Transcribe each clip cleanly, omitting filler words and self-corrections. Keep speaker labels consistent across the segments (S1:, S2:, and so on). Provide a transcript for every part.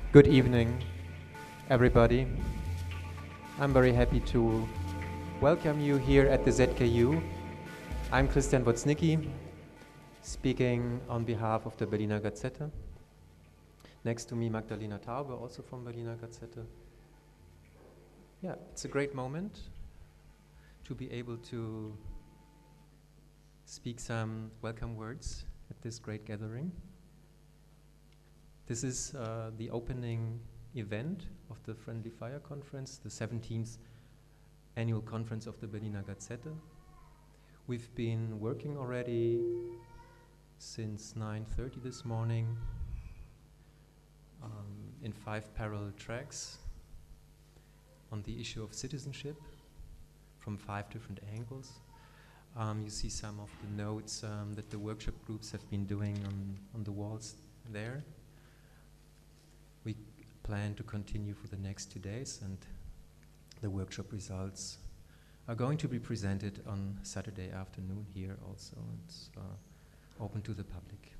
S1: Good evening, everybody. I'm very happy to welcome you here at the ZKU. I'm Christian Woznicki, speaking on behalf of the Berliner Gazette. Next to me, Magdalena Taube, also from Berliner Gazette. Yeah, it's a great moment to be able to speak some welcome words at this great gathering. This is the opening event of the Friendly Fire Conference, the 17th annual conference of the Berliner Gazette. We've been working already since 9:30 this morning in 5 parallel tracks on the issue of citizenship from 5 different angles. You see some of the notes that the workshop groups have been doing on the walls there. We plan to continue for the next 2 days, and the workshop results are going to be presented on Saturday afternoon here also. It's open to the public.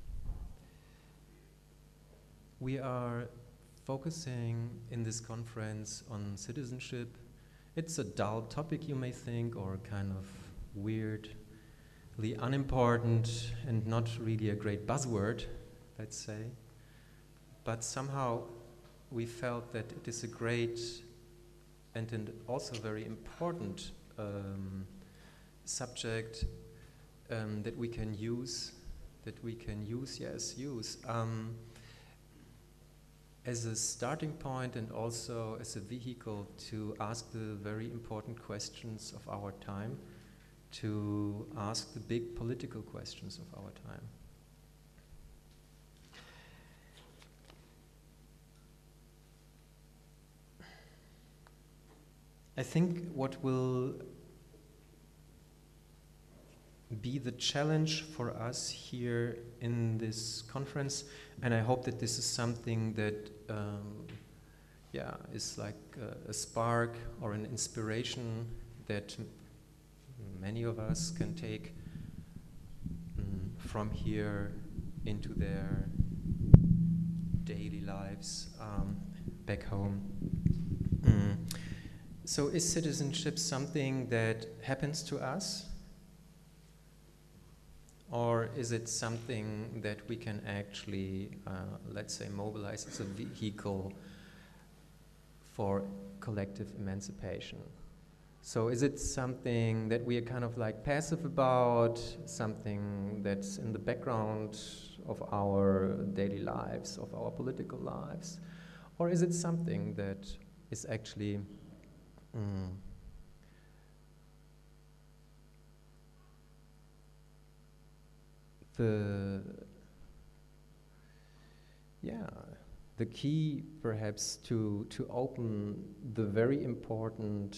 S1: We are focusing in this conference on citizenship. It's a dull topic, you may think, or kind of weirdly unimportant and not really a great buzzword, let's say. But somehow we felt that it is a great and also very important subject that we can use as a starting point and also as a vehicle to ask the very important questions of our time, to ask the big political questions of our time. I think what will be the challenge for us here in this conference, and I hope that this is something that is like a spark or an inspiration that many of us can take from here into their daily lives back home. So is citizenship something that happens to us? Or is it something that we can actually, let's say, mobilize as a vehicle for collective emancipation? So is it something that we are kind of like passive about, something that's in the background of our daily lives, of our political lives? Or is it something that is actually the key perhaps to open the very important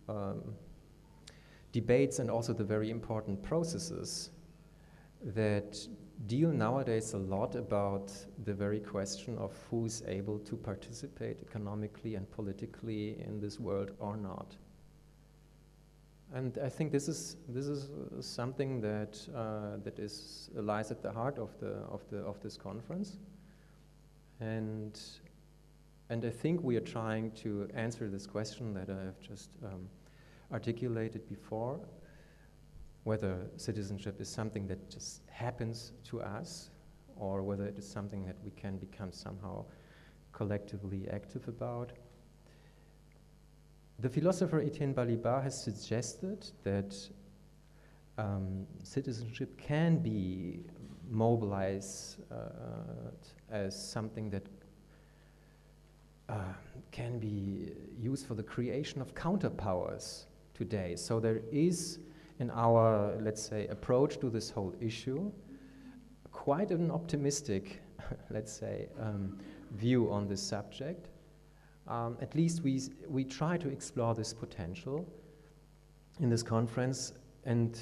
S1: debates and also the very important processes that deal nowadays a lot about the very question of who's able to participate economically and politically in this world or not. And I think this is something that lies at the heart of this conference, and I think we are trying to answer this question that I have just articulated before, whether citizenship is something that just happens to us, or whether it is something that we can become somehow collectively active about. The philosopher Etienne Balibar has suggested that citizenship can be mobilized as something that can be used for the creation of counterpowers today. So there is, in our, let's say, approach to this whole issue, quite an optimistic, let's say, view on this subject. At least we try to explore this potential in this conference, and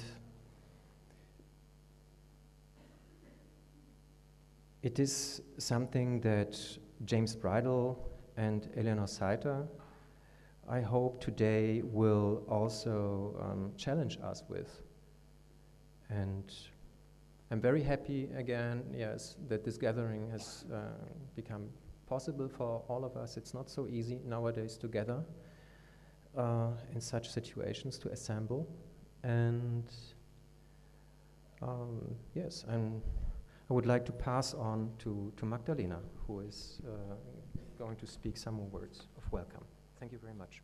S1: it is something that James Bridle and Eleanor Saiter, I hope today, will also challenge us with. And I'm very happy again, yes, that this gathering has become possible for all of us. It's not so easy nowadays to gather in such situations to assemble. And yes, and I would like to pass on to Magdalena, who is going to speak some more words of welcome. Thank you very much.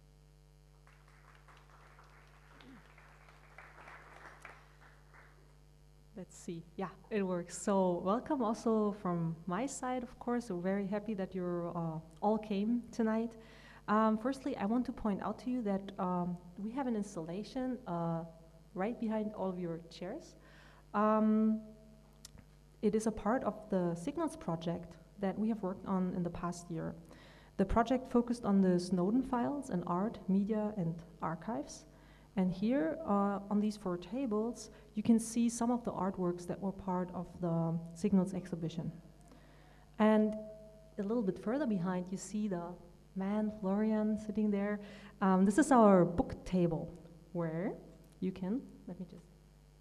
S2: Let's see. Yeah, it works. So welcome also from my side, of course. We're very happy that you all came tonight. Firstly, I want to point out to you that we have an installation right behind all of your chairs. It is a part of the Signals project that we have worked on in the past year. The project focused on the Snowden files and art, media, and archives. And here on these 4 tables, you can see some of the artworks that were part of the Signals exhibition. And a little bit further behind, you see the man, Florian, sitting there. This is our book table, where you can, let me just,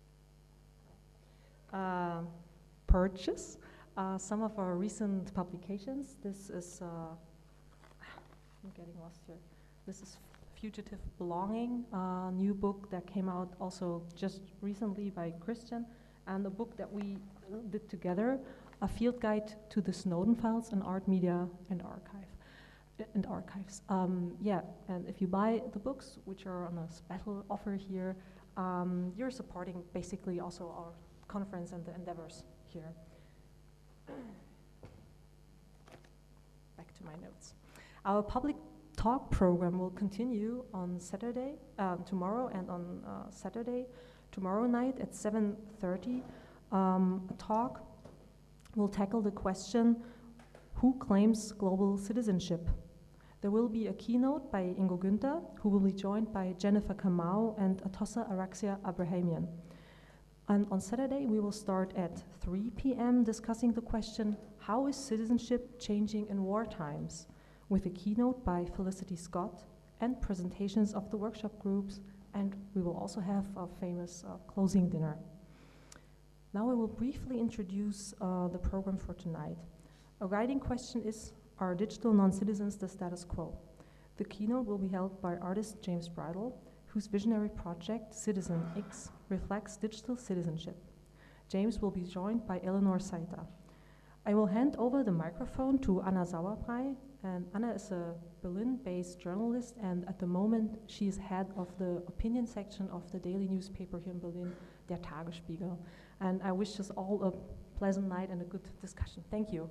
S2: purchase some of our recent publications. This is, I'm getting lost here. This is Fugitive Belonging, a new book that came out also just recently by Christian, and a book that we did together, a field guide to the Snowden files and art, media, and archives. Yeah, and if you buy the books, which are on a special offer here, you're supporting basically also our conference and the endeavors here. Back to my notes. Our public talk program will continue on Saturday, tomorrow, and on Saturday, tomorrow night at 7:30. A talk will tackle the question, who claims global citizenship? There will be a keynote by Ingo Günther, who will be joined by Jennifer Kamau and Atossa Araxia Abrahamian. And on Saturday, we will start at 3 p.m. discussing the question, how is citizenship changing in war times? With a keynote by Felicity Scott and presentations of the workshop groups, and we will also have a famous closing dinner. Now I will briefly introduce the program for tonight. A guiding question is, are digital non-citizens the status quo? The keynote will be held by artist James Bridle, whose visionary project, Citizen X, reflects digital citizenship. James will be joined by Eleanor Saita. I will hand over the microphone to Anna Sauerbrei, and Anna is a Berlin-based journalist, and at the moment she is head of the opinion section of the daily newspaper here in Berlin, Der Tagesspiegel. And I wish us all a pleasant night and a good discussion. Thank you.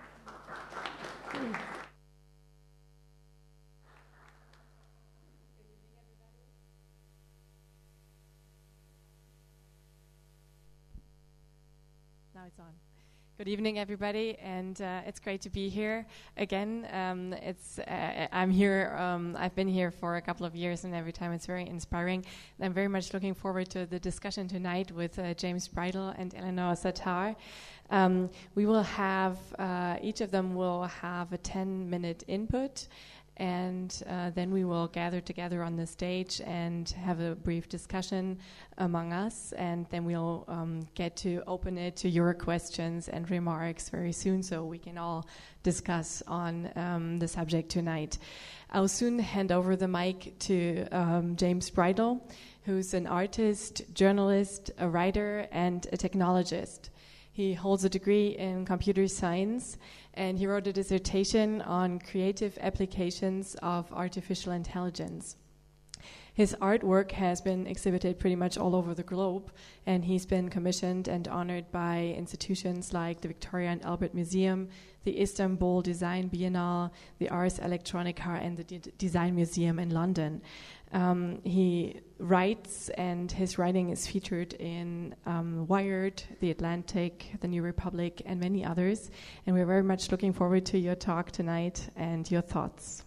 S3: Now it's on. Good evening, everybody, and it's great to be here again. I'm here. I've been here for a couple of years, and every time it's very inspiring. And I'm very much looking forward to the discussion tonight with James Bridle and Eleanor Satar. We will have each of them will have a 10-minute input. And then we will gather together on the stage and have a brief discussion among us, and then we'll get to open it to your questions and remarks very soon, so we can all discuss on the subject tonight. I'll soon hand over the mic to James Bridle, who's an artist, journalist, a writer, and a technologist. He holds a degree in computer science, and he wrote a dissertation on creative applications of artificial intelligence. His artwork has been exhibited pretty much all over the globe, and he's been commissioned and honored by institutions like the Victoria and Albert Museum, the Istanbul Design Biennale, the Ars Electronica, and the Design Museum in London. He writes, and his writing is featured in Wired, The Atlantic, The New Republic, and many others. And we're very much looking forward to your talk tonight and your thoughts.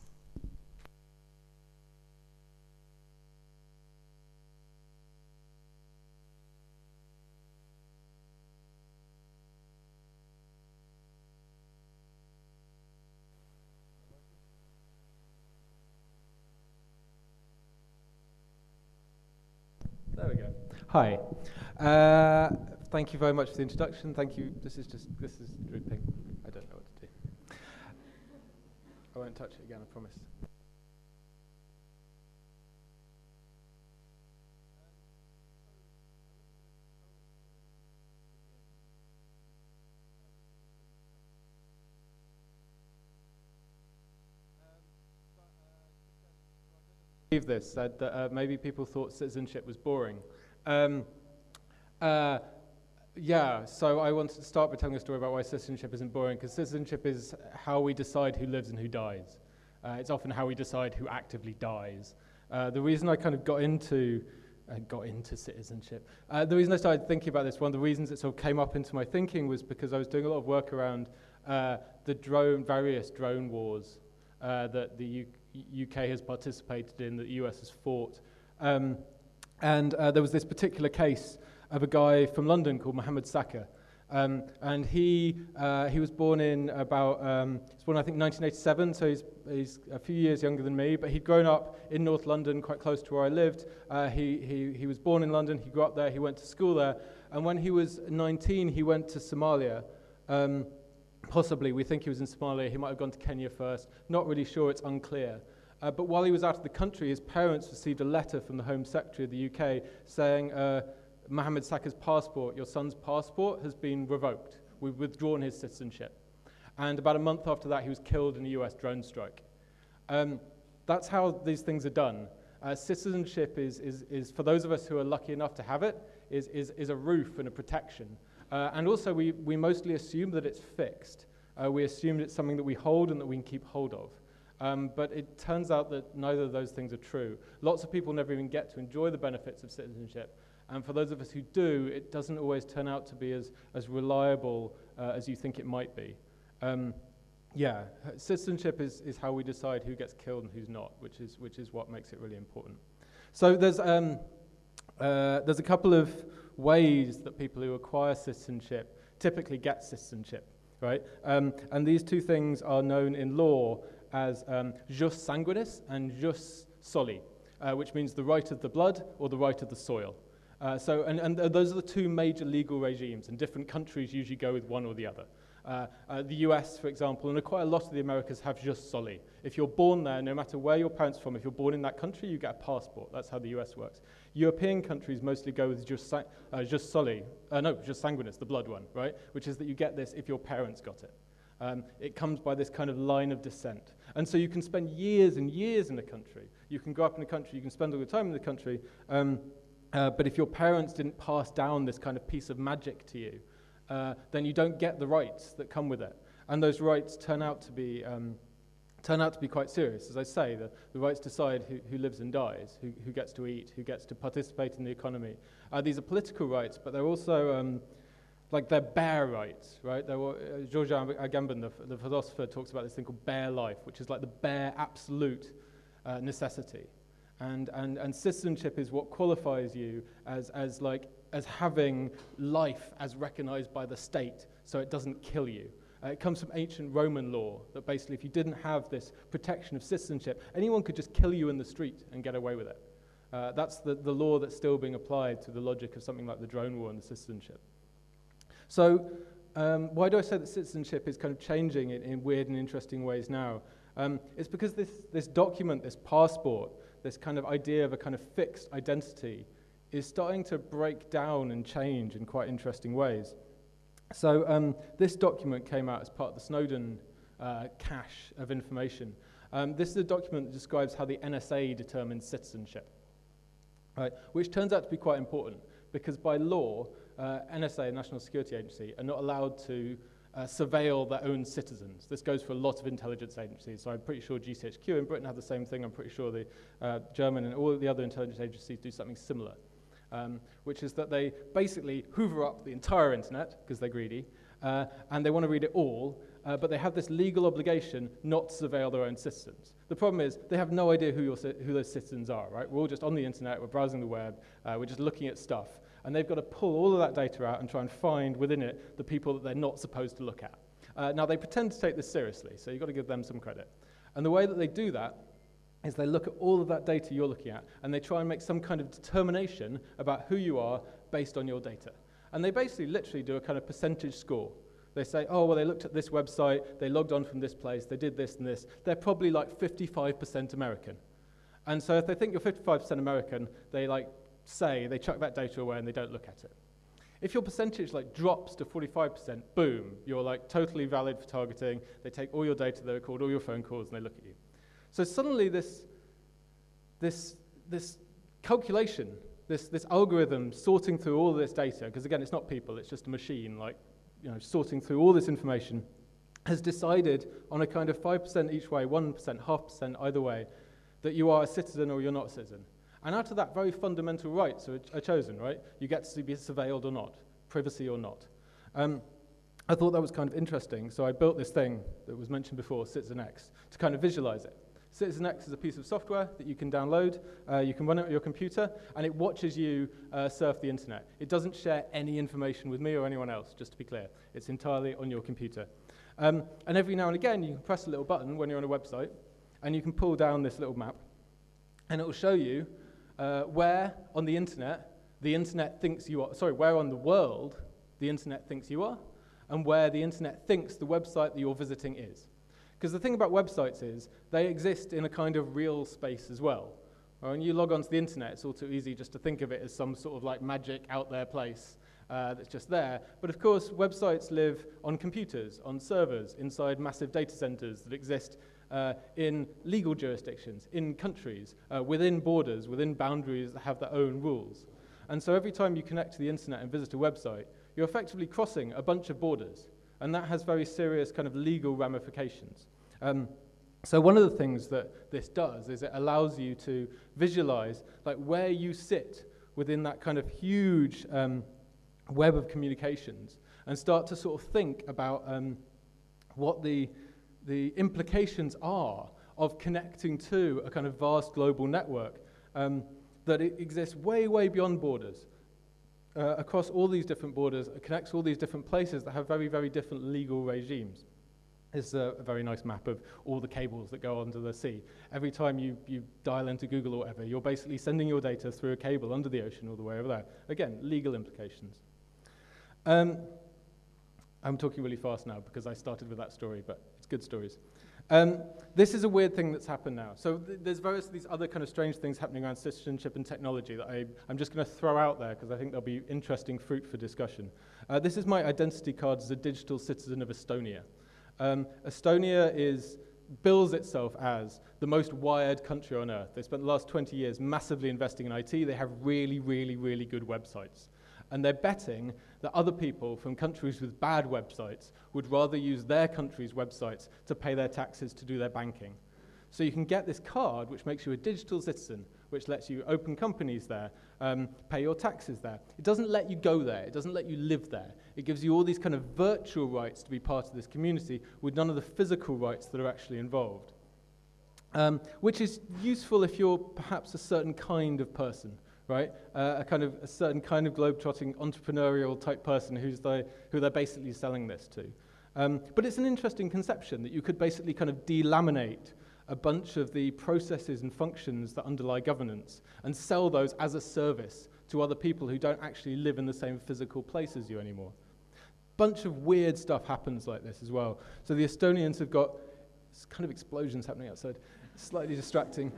S4: There we go. Hi. Thank you very much for the introduction. Thank you. This is drooping. I don't know what to do. I won't touch it again, I promise. This said that maybe people thought citizenship was boring. Yeah, so I wanted to start by telling a story about why citizenship isn't boring, because citizenship is how we decide who lives and who dies. It's often how we decide who actively dies. The reason I kind of got into citizenship, the reason I started thinking about this, one of the reasons it sort of came up into my thinking was because I was doing a lot of work around the various drone wars that the UK has participated in, that the US has fought. And there was this particular case of a guy from London called Mohammed Saka. And he was born in about, he was born I think 1987, so he's a few years younger than me, but he'd grown up in North London, quite close to where I lived. He was born in London, he grew up there, he went to school there, and when he was 19, he went to Somalia. Possibly, we think he was in Somalia, he might have gone to Kenya first, not really sure, it's unclear. But while he was out of the country, his parents received a letter from the Home Secretary of the UK saying, Mohammed Saka's passport, your son's passport, has been revoked. We've withdrawn his citizenship. And about a month after that, he was killed in a US drone strike. That's how these things are done. Citizenship is, for those of us who are lucky enough to have it, is a roof and a protection. And also, we mostly assume that it's fixed. We assume it's something that we hold and that we can keep hold of. But it turns out that neither of those things are true. Lots of people never even get to enjoy the benefits of citizenship. And for those of us who do, it doesn't always turn out to be as reliable as you think it might be. Yeah, citizenship is how we decide who gets killed and who's not, which is what makes it really important. So there's a couple of ways that people who acquire citizenship typically get citizenship, right? And these two things are known in law as jus sanguinis and jus soli, which means the right of the blood or the right of the soil. And those are the two major legal regimes, and different countries usually go with one or the other. The US, for example, and quite a lot of the Americas have jus soli. If you're born there, no matter where your parents are from, if you're born in that country, you get a passport. That's how the US works. European countries mostly go with jus sanguinis, the blood one, right? Which is that you get this if your parents got it. It comes by this kind of line of descent. And so you can spend years and years in a country. You can grow up in a country, you can spend all your time in the country, but if your parents didn't pass down this kind of piece of magic to you, then you don't get the rights that come with it. And those rights turn out to be quite serious. As I say, the rights decide who lives and dies, who gets to eat, who gets to participate in the economy. These are political rights, but they're also they're bare rights, right? Georges Agamben, the philosopher, talks about this thing called bare life, which is like the bare absolute necessity. And citizenship is what qualifies you as having life as recognized by the state, so it doesn't kill you. It comes from ancient Roman law, that basically if you didn't have this protection of citizenship, anyone could just kill you in the street and get away with it. That's the law that's still being applied to the logic of something like the drone war and the citizenship. So why do I say that citizenship is kind of changing in weird and interesting ways now? It's because this document, this passport, this kind of idea of a kind of fixed identity is starting to break down and change in quite interesting ways. So this document came out as part of the Snowden cache of information. This is a document that describes how the NSA determines citizenship, right? Which turns out to be quite important because by law, NSA, National Security Agency, are not allowed to surveil their own citizens. This goes for a lot of intelligence agencies, so I'm pretty sure GCHQ in Britain have the same thing. I'm pretty sure the German and all the other intelligence agencies do something similar, which is that they basically hoover up the entire internet, because they're greedy, and they want to read it all, but they have this legal obligation not to surveil their own citizens. The problem is they have no idea who those citizens are, right? We're all just on the internet, we're browsing the web, we're just looking at stuff. And they've got to pull all of that data out and try and find within it the people that they're not supposed to look at. Now, they pretend to take this seriously, so you've got to give them some credit. And the way that they do that is they look at all of that data you're looking at, and they try and make some kind of determination about who you are based on your data. And they basically literally do a kind of percentage score. They say, oh, well, they looked at this website, they logged on from this place, they did this and this. They're probably like 55% American. And so if they think you're 55% American, they chuck that data away and they don't look at it. If your percentage drops to 45%, boom, you're totally valid for targeting. They take all your data, they record all your phone calls, and they look at you. So suddenly this calculation, this algorithm sorting through all this data, because again, it's not people, it's just a machine, sorting through all this information, has decided on a kind of 5% each way, 1%, 0.5% either way, that you are a citizen or you're not a citizen. And out of that, very fundamental rights are chosen, right? You get to be surveilled or not, privacy or not. I thought that was kind of interesting, so I built this thing that was mentioned before, CitizenX, to kind of visualize it. CitizenX is a piece of software that you can download, you can run it on your computer, and it watches you surf the internet. It doesn't share any information with me or anyone else, just to be clear. It's entirely on your computer. And every now and again, you can press a little button when you're on a website, and you can pull down this little map, and it will show you where on the internet thinks you are, where on the world the internet thinks you are, and where the internet thinks the website that you're visiting is. Because the thing about websites is they exist in a kind of real space as well. When you log onto the internet, it's all too easy just to think of it as some sort of magic out there place that's just there. But of course, websites live on computers, on servers, inside massive data centers that exist in legal jurisdictions, in countries, within borders, within boundaries that have their own rules. And so every time you connect to the internet and visit a website, you're effectively crossing a bunch of borders. And that has very serious kind of legal ramifications. So one of the things that this does is it allows you to visualize where you sit within that kind of huge web of communications and start to sort of think about what the implications are of connecting to a kind of vast global network that it exists way, way beyond borders. Across all these different borders, it connects all these different places that have very, very different legal regimes. It's a very nice map of all the cables that go under the sea. Every time you dial into Google or whatever, you're basically sending your data through a cable under the ocean all the way over there. Again, legal implications. I'm talking really fast now because I started with that story, but it's good stories. This is a weird thing that's happened now. So there's these other kind of strange things happening around citizenship and technology that I'm just going to throw out there because I think there'll be interesting fruit for discussion. This is my identity card as a digital citizen of Estonia. Estonia bills itself as the most wired country on earth. They spent the last 20 years massively investing in IT. They have really, really, really good websites. And they're betting that other people from countries with bad websites would rather use their country's websites to pay their taxes, to do their banking. So you can get this card, which makes you a digital citizen, which lets you open companies there, pay your taxes there. It doesn't let you go there. It doesn't let you live there. It gives you all these kind of virtual rights to be part of this community with none of the physical rights that are actually involved, which is useful if you're perhaps a certain kind of person. Right, a certain kind of globe-trotting entrepreneurial type person who they're basically selling this to. But it's an interesting conception that you could basically kind of delaminate a bunch of the processes and functions that underlie governance and sell those as a service to other people who don't actually live in the same physical place as you anymore. Bunch of weird stuff happens like this as well. So the Estonians have got kind of explosions happening outside, slightly distracting.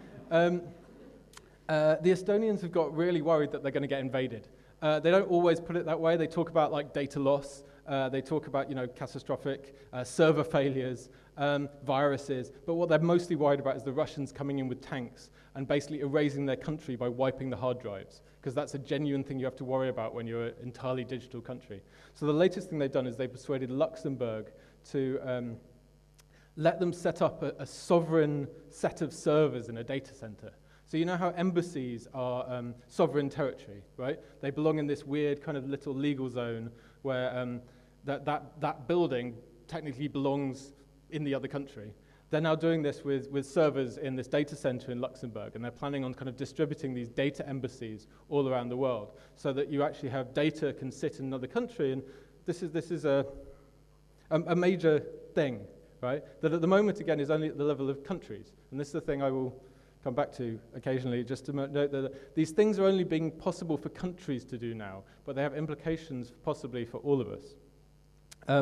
S4: The Estonians have got really worried that they're going to get invaded. They don't always put it that way. They talk about data loss. They talk about catastrophic server failures, viruses. But what they're mostly worried about is the Russians coming in with tanks and basically erasing their country by wiping the hard drives, because that's a genuine thing you have to worry about when you're an entirely digital country. So the latest thing they've done is they persuaded Luxembourg to let them set up a sovereign set of servers in a data center. So you know how embassies are sovereign territory, right? They belong in this weird kind of little legal zone where that building technically belongs in the other country. They're now doing this with servers in this data center in Luxembourg, and they're planning on kind of distributing these data embassies all around the world so that you actually have data can sit in another country. And this is a major thing, right? That at the moment, again, is only at the level of countries. And this is the thing I will come back to occasionally, just to note that these things are only being possible for countries to do now, but they have implications possibly for all of us.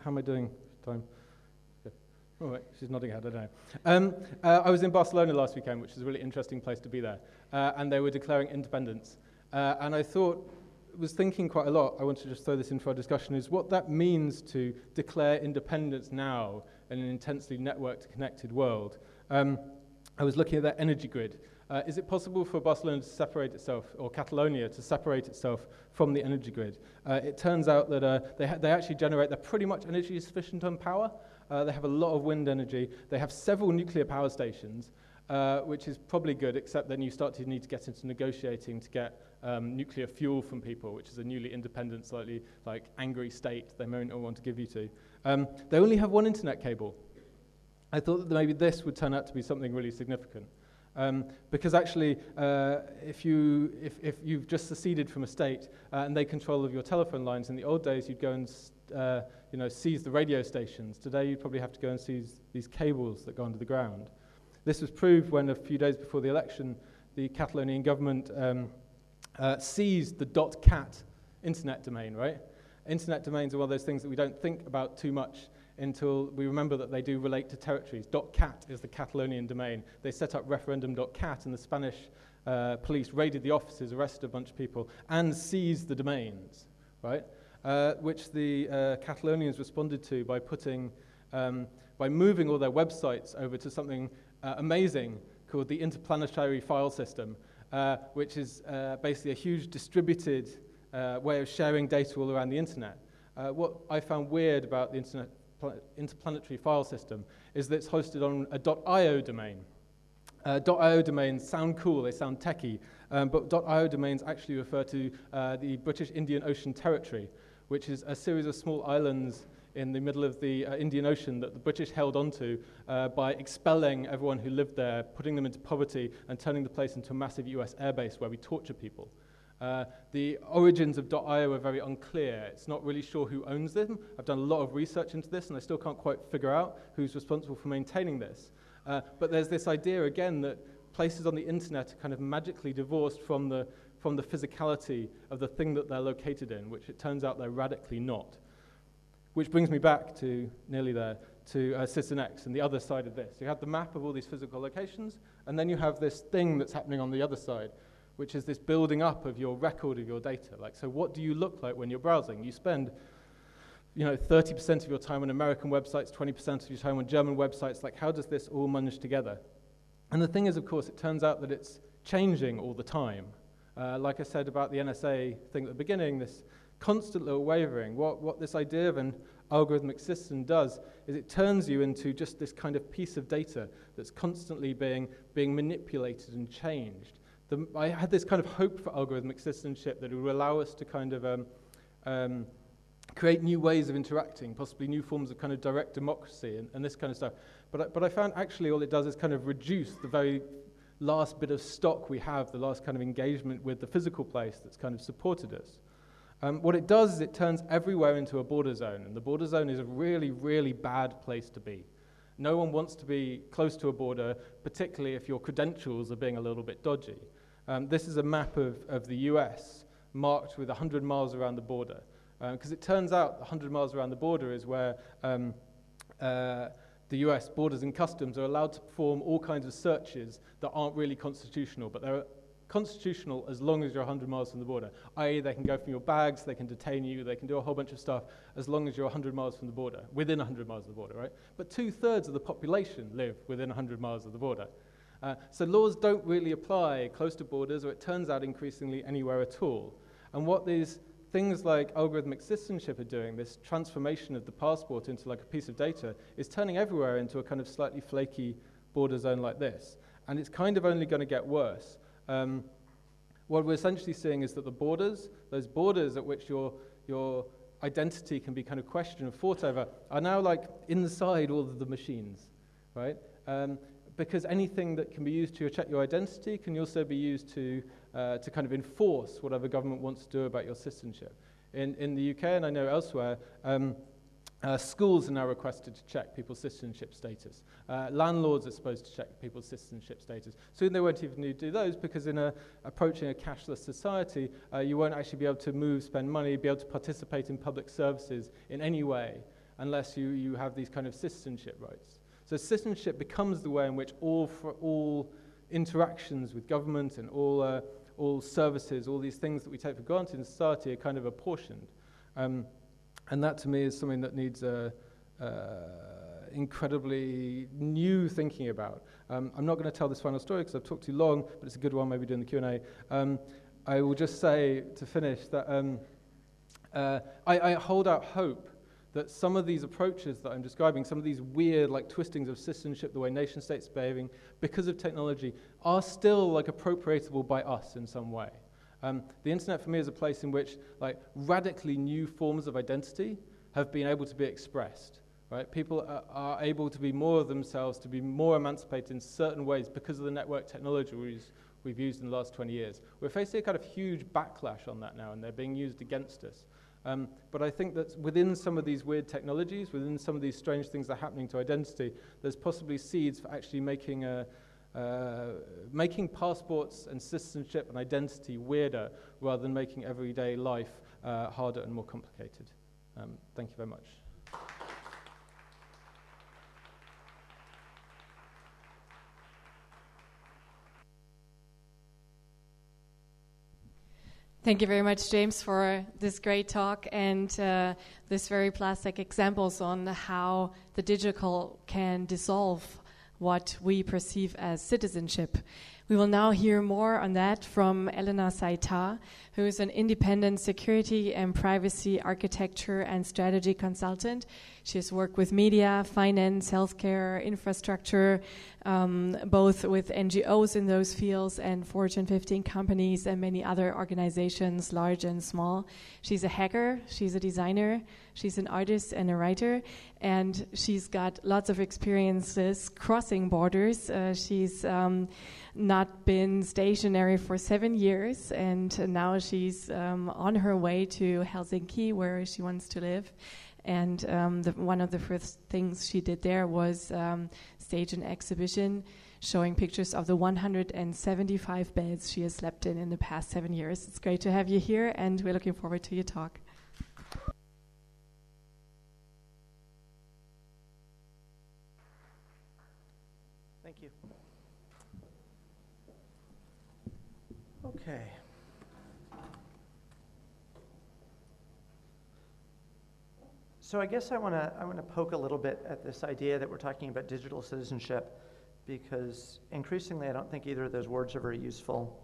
S4: how am I doing? Time? Good. All right, she's nodding her head, I don't know. I was in Barcelona last weekend, which is a really interesting place to be there, and they were declaring independence. And I was thinking quite a lot, I want to just throw this in for our discussion, is what that means to declare independence now in an intensely networked, connected world. I was looking at that energy grid. Is it possible for Barcelona to separate itself, or Catalonia to separate itself from the energy grid? It turns out that they actually generate, they're pretty much energy sufficient on power. They have a lot of wind energy. They have several nuclear power stations, which is probably good, except then you start to need to get into negotiating to get nuclear fuel from people, which is a newly independent, slightly like angry state they may not want to give you to. They only have one internet cable. I thought that maybe this would turn out to be something really significant. Because actually, if you've just seceded from a state and they control of your telephone lines, in the old days you'd go and seize the radio stations. Today you'd probably have to go and seize these cables that go under the ground. This was proved when a few days before the election, the Catalonian government seized the .cat internet domain, right? Internet domains are one of those things that we don't think about too much until we remember that they do relate to territories. .cat is the Catalonian domain. They set up referendum.cat, and the Spanish police raided the offices, arrested a bunch of people, and seized the domains, right? Which the Catalonians responded to by by moving all their websites over to something amazing called the Interplanetary File System, which is basically a huge distributed way of sharing data all around the internet. What I found weird about the Interplanetary File System is that it's hosted on a .io domain. .io domains sound cool, they sound techie, but .io domains actually refer to the British Indian Ocean Territory, which is a series of small islands in the middle of the Indian Ocean that the British held onto by expelling everyone who lived there, putting them into poverty, and turning the place into a massive US airbase where we torture people. The origins of .io are very unclear. It's not really sure who owns them. I've done a lot of research into this, and I still can't quite figure out who's responsible for maintaining this. But there's this idea, again, that places on the internet are kind of magically divorced from the physicality of the thing that they're located in, which it turns out they're radically not. Which brings me back to, nearly there, to Citizen X and the other side of this. You have the map of all these physical locations, and then you have this thing that's happening on the other side, which is this building up of your record of your data. Like, so what do you look like when you're browsing? You spend 30% of your time on American websites, 20% of your time on German websites. Like, how does this all manage together? And the thing is, of course, it turns out that it's changing all the time. Like I said about the NSA thing at the beginning, this constant little wavering. What this idea of an algorithmic system does is it turns you into just this kind of piece of data that's constantly being manipulated and changed. I had this kind of hope for algorithmic citizenship that it would allow us to kind of create new ways of interacting, possibly new forms of kind of direct democracy and this kind of stuff. But I found actually all it does is kind of reduce the very last bit of stock we have, the last kind of engagement with the physical place that's kind of supported us. What it does is it turns everywhere into a border zone, and the border zone is a really, really bad place to be. No one wants to be close to a border, particularly if your credentials are being a little bit dodgy. This is a map of the US marked with 100 miles around the border, because it turns out 100 miles around the border is where the US Borders and Customs are allowed to perform all kinds of searches that aren't really constitutional, but they're constitutional as long as you're 100 miles from the border, i.e. they can go from your bags, they can detain you, they can do a whole bunch of stuff as long as you're 100 miles from the border, within 100 miles of the border, right? But 2/3 of the population live within 100 miles of the border. So laws don't really apply close to borders, or it turns out increasingly anywhere at all. And what these things like algorithmic citizenship are doing, this transformation of the passport into like a piece of data, is turning everywhere into a kind of slightly flaky border zone like this. And it's kind of only going to get worse. What we're essentially seeing is that the borders, those borders at which your identity can be kind of questioned and fought over, are now like inside all of the machines, right? Because anything that can be used to check your identity can also be used to kind of enforce whatever government wants to do about your citizenship. In the UK, and I know elsewhere, schools are now requested to check people's citizenship status. Landlords are supposed to check people's citizenship status. Soon they won't even need to do those, because in approaching a cashless society, you won't actually be able to move, spend money, be able to participate in public services in any way unless you have these kind of citizenship rights. So citizenship becomes the way in which all interactions with government and all services, all these things that we take for granted in society are kind of apportioned. And that to me is something that needs incredibly new thinking about. I'm not going to tell this final story because I've talked too long, but it's a good one, maybe doing the Q&A. I will just say, to finish, that I hold out hope that some of these approaches that I'm describing, some of these weird like twistings of citizenship, the way nation states are behaving because of technology, are still like appropriatable by us in some way. The internet for me is a place in which like radically new forms of identity have been able to be expressed. Right? People are able to be more of themselves, to be more emancipated in certain ways because of the network technology we've used in the last 20 years. We're facing a kind of huge backlash on that now, and they're being used against us. But I think that within some of these weird technologies, within some of these strange things that are happening to identity, there's possibly seeds for actually making passports and citizenship and identity weirder rather than making everyday life harder and more complicated. Thank you very much.
S3: Thank you very much, James, for this great talk and this very plastic examples on how the digital can dissolve what we perceive as citizenship. We will now hear more on that from Elena Saita, who is an independent security and privacy architecture and strategy consultant. She has worked with media, finance, healthcare, infrastructure, both with NGOs in those fields and Fortune 15 companies and many other organizations, large and small. She's a hacker, she's a designer, she's an artist and a writer, and she's got lots of experiences crossing borders. She's not been stationary for 7 years, and now she's on her way to Helsinki, where she wants to live. And one of the first things she did there was stage an exhibition showing pictures of the 175 beds she has slept in the past 7 years. It's great to have you here, and we're looking forward to your talk.
S5: Thank you. Okay. So I guess I want to poke a little bit at this idea that we're talking about digital citizenship, because increasingly I don't think either of those words are very useful.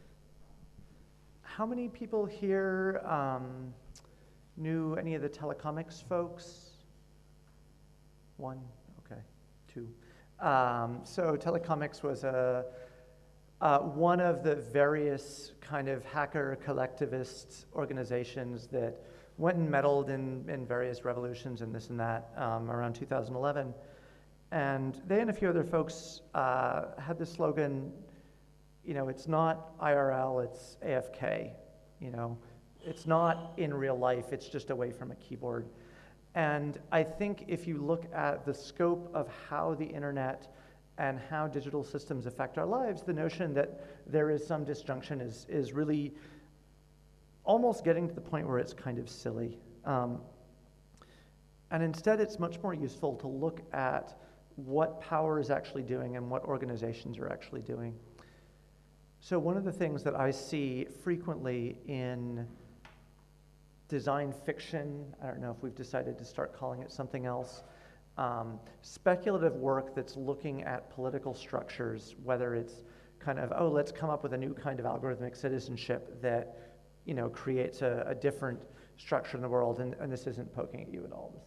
S5: How many people here knew any of the telecomics folks? One? Okay. Two. So telecomics was one of the various kind of hacker collectivist organizations that went and meddled in various revolutions and this and that around 2011. And they and a few other folks had the slogan, you know, it's not IRL, it's AFK. You know, it's not in real life, it's just away from a keyboard. And I think if you look at the scope of how the internet and how digital systems affect our lives, the notion that there is some disjunction is really almost getting to the point where it's kind of silly. And instead, it's much more useful to look at what power is actually doing and what organizations are actually doing. So one of the things that I see frequently in design fiction, I don't know if we've decided to start calling it something else, speculative work that's looking at political structures, whether it's kind of, oh, let's come up with a new kind of algorithmic citizenship that, you know, creates a different structure in the world, and this isn't poking at you at all.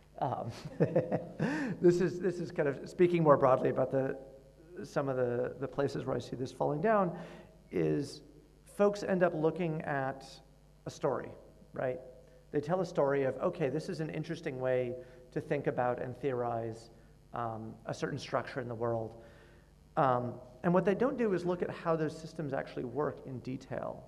S5: This is kind of speaking more broadly about some of the places where I see this falling down. Is folks end up looking at a story, right? They tell a story of, okay, this is an interesting way to think about and theorize a certain structure in the world. And what they don't do is look at how those systems actually work in detail.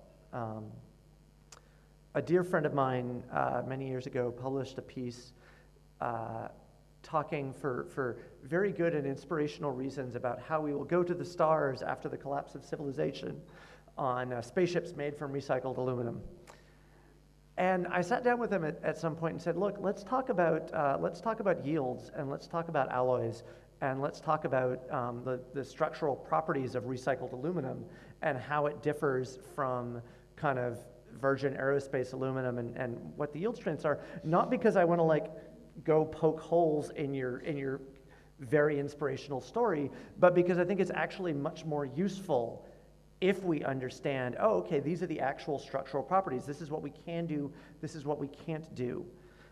S5: A dear friend of mine many years ago published a piece talking for very good and inspirational reasons about how we will go to the stars after the collapse of civilization on spaceships made from recycled aluminum. And I sat down with them at some point and said, look, let's talk about yields, and let's talk about alloys, and let's talk about the structural properties of recycled aluminum and how it differs from kind of virgin aerospace aluminum and what the yield strengths are. Not because I want to like go poke holes in your very inspirational story, but because I think it's actually much more useful if we understand, oh, okay, these are the actual structural properties. This is what we can do. This is what we can't do.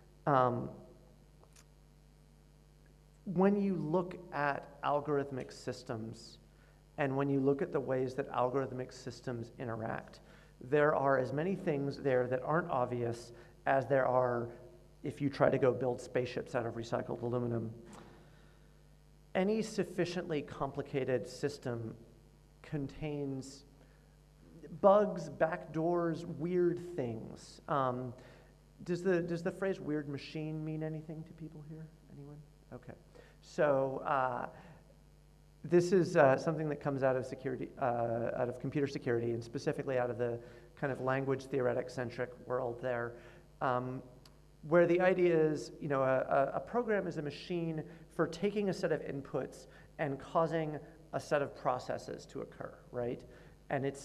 S5: When you look at algorithmic systems and when you look at the ways that algorithmic systems interact, there are as many things there that aren't obvious as there are if you try to go build spaceships out of recycled aluminum. Any sufficiently complicated system contains bugs, backdoors, weird things. Does the phrase weird machine mean anything to people here? Anyone? Okay. So this is something that comes out of security, out of computer security, and specifically out of the kind of language theoretic-centric world there, where the idea is, you know, a program is a machine for taking a set of inputs and causing a set of processes to occur, right? And it's,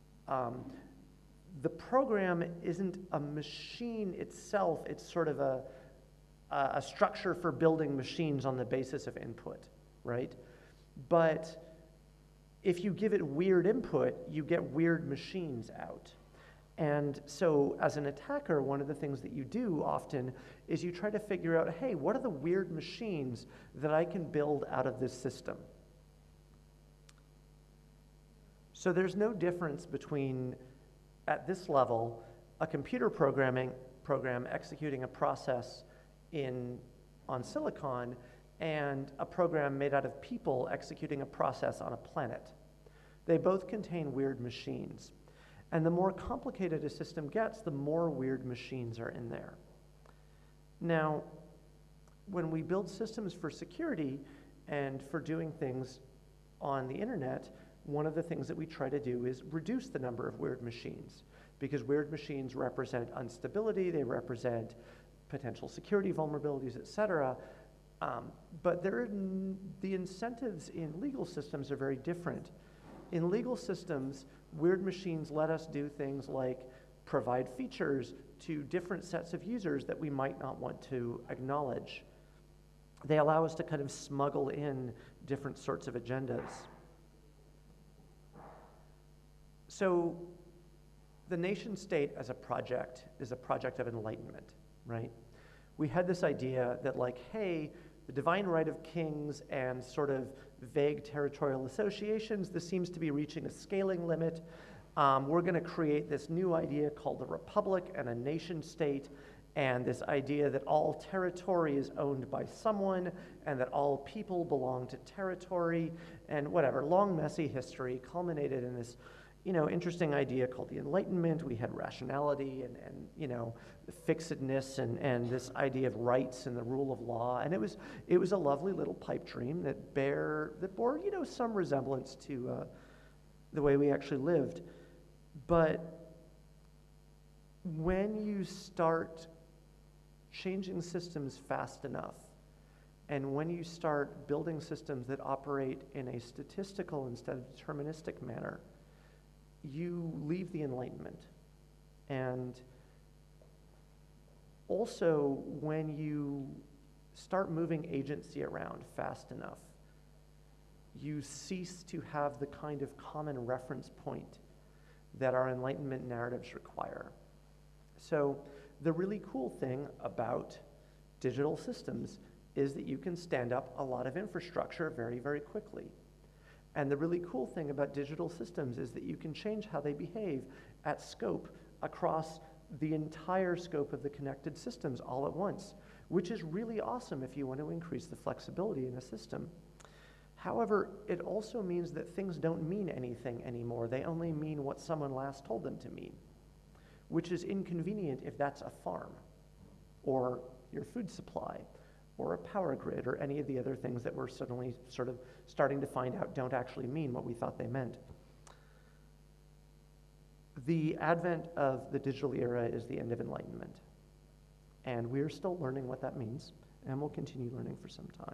S5: the program isn't a machine itself, it's sort of a structure for building machines on the basis of input, right? But if you give it weird input, you get weird machines out. And so as an attacker, one of the things that you do often is you try to figure out, hey, what are the weird machines that I can build out of this system? So there's no difference between, at this level, a computer program executing a process on silicon and a program made out of people executing a process on a planet. They both contain weird machines. And the more complicated a system gets, the more weird machines are in there. Now, when we build systems for security and for doing things on the internet, one of the things that we try to do is reduce the number of weird machines, because weird machines represent instability, they represent potential security vulnerabilities, et cetera. But the incentives in legal systems are very different. In legal systems, weird machines let us do things like provide features to different sets of users that we might not want to acknowledge. They allow us to kind of smuggle in different sorts of agendas. So the nation state as a project is a project of enlightenment, right? We had this idea that like, hey, the divine right of kings and sort of vague territorial associations, this seems to be reaching a scaling limit. We're going to create this new idea called the republic and a nation state, and this idea that all territory is owned by someone and that all people belong to territory, and whatever, long, messy history culminated in this, you know, interesting idea called the Enlightenment. We had rationality and you know, fixedness and this idea of rights and the rule of law. And it was a lovely little pipe dream that bore, you know, some resemblance to the way we actually lived. But when you start changing systems fast enough, and when you start building systems that operate in a statistical instead of deterministic manner, you leave the Enlightenment. And also, when you start moving agency around fast enough, you cease to have the kind of common reference point that our Enlightenment narratives require. So the really cool thing about digital systems is that you can stand up a lot of infrastructure very, very quickly. And the really cool thing about digital systems is that you can change how they behave at scope across the entire scope of the connected systems all at once, which is really awesome if you want to increase the flexibility in a system. However, it also means that things don't mean anything anymore. They only mean what someone last told them to mean, which is inconvenient if that's a farm or your food supply or a power grid, or any of the other things that we're suddenly sort of starting to find out don't actually mean what we thought they meant. The advent of the digital era is the end of enlightenment. And we're still learning what that means, and we'll continue learning for some time.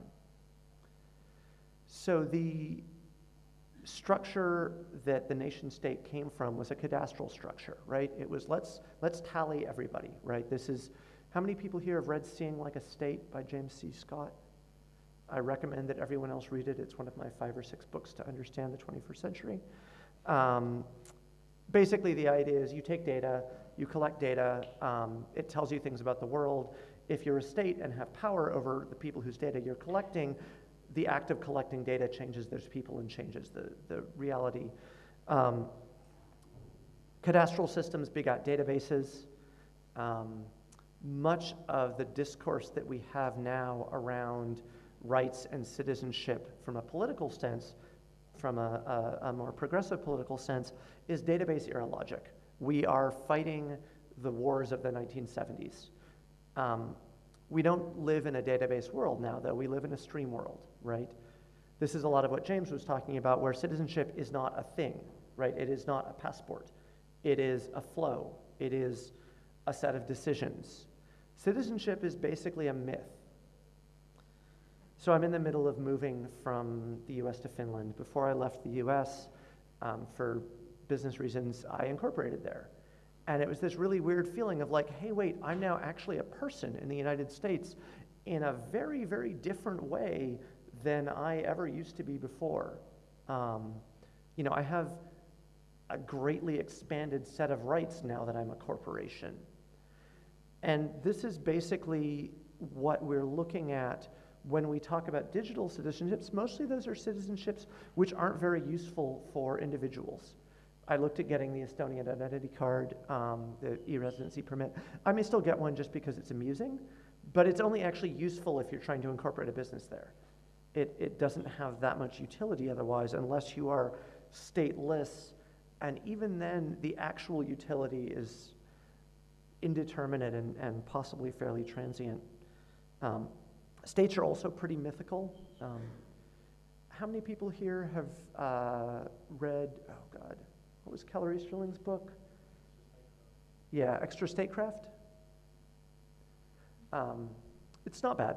S5: So the structure that the nation state came from was a cadastral structure, right? It was let's tally everybody, right? This is, how many people here have read Seeing Like a State by James C. Scott? I recommend that everyone else read it. It's one of my 5 or 6 books to understand the 21st century. Basically, the idea is you take data, you collect data, it tells you things about the world. If you're a state and have power over the people whose data you're collecting, the act of collecting data changes those people and changes the reality. Cadastral systems begot databases. Much of the discourse that we have now around rights and citizenship from a political sense, from a more progressive political sense, is database era logic. We are fighting the wars of the 1970s. We don't live in a database world now, though. We live in a stream world, right? This is a lot of what James was talking about, where citizenship is not a thing, right? It is not a passport. It is a flow. It is a set of decisions. Citizenship is basically a myth. So I'm in the middle of moving from the US to Finland. Before I left the US, for business reasons, I incorporated there. And it was this really weird feeling of like, hey, wait, I'm now actually a person in the United States in a very, very different way than I ever used to be before. I have a greatly expanded set of rights now that I'm a corporation. And this is basically what we're looking at when we talk about digital citizenships. Mostly those are citizenships which aren't very useful for individuals. I looked at getting the Estonian identity card, the e-residency permit. I may still get one just because it's amusing, but it's only actually useful if you're trying to incorporate a business there. It doesn't have that much utility otherwise, unless you are stateless, and even then, the actual utility is indeterminate and possibly fairly transient. States are also pretty mythical. How many people here have read, oh God, what was Keller Easterling's book? Yeah, Extra Statecraft. It's not bad.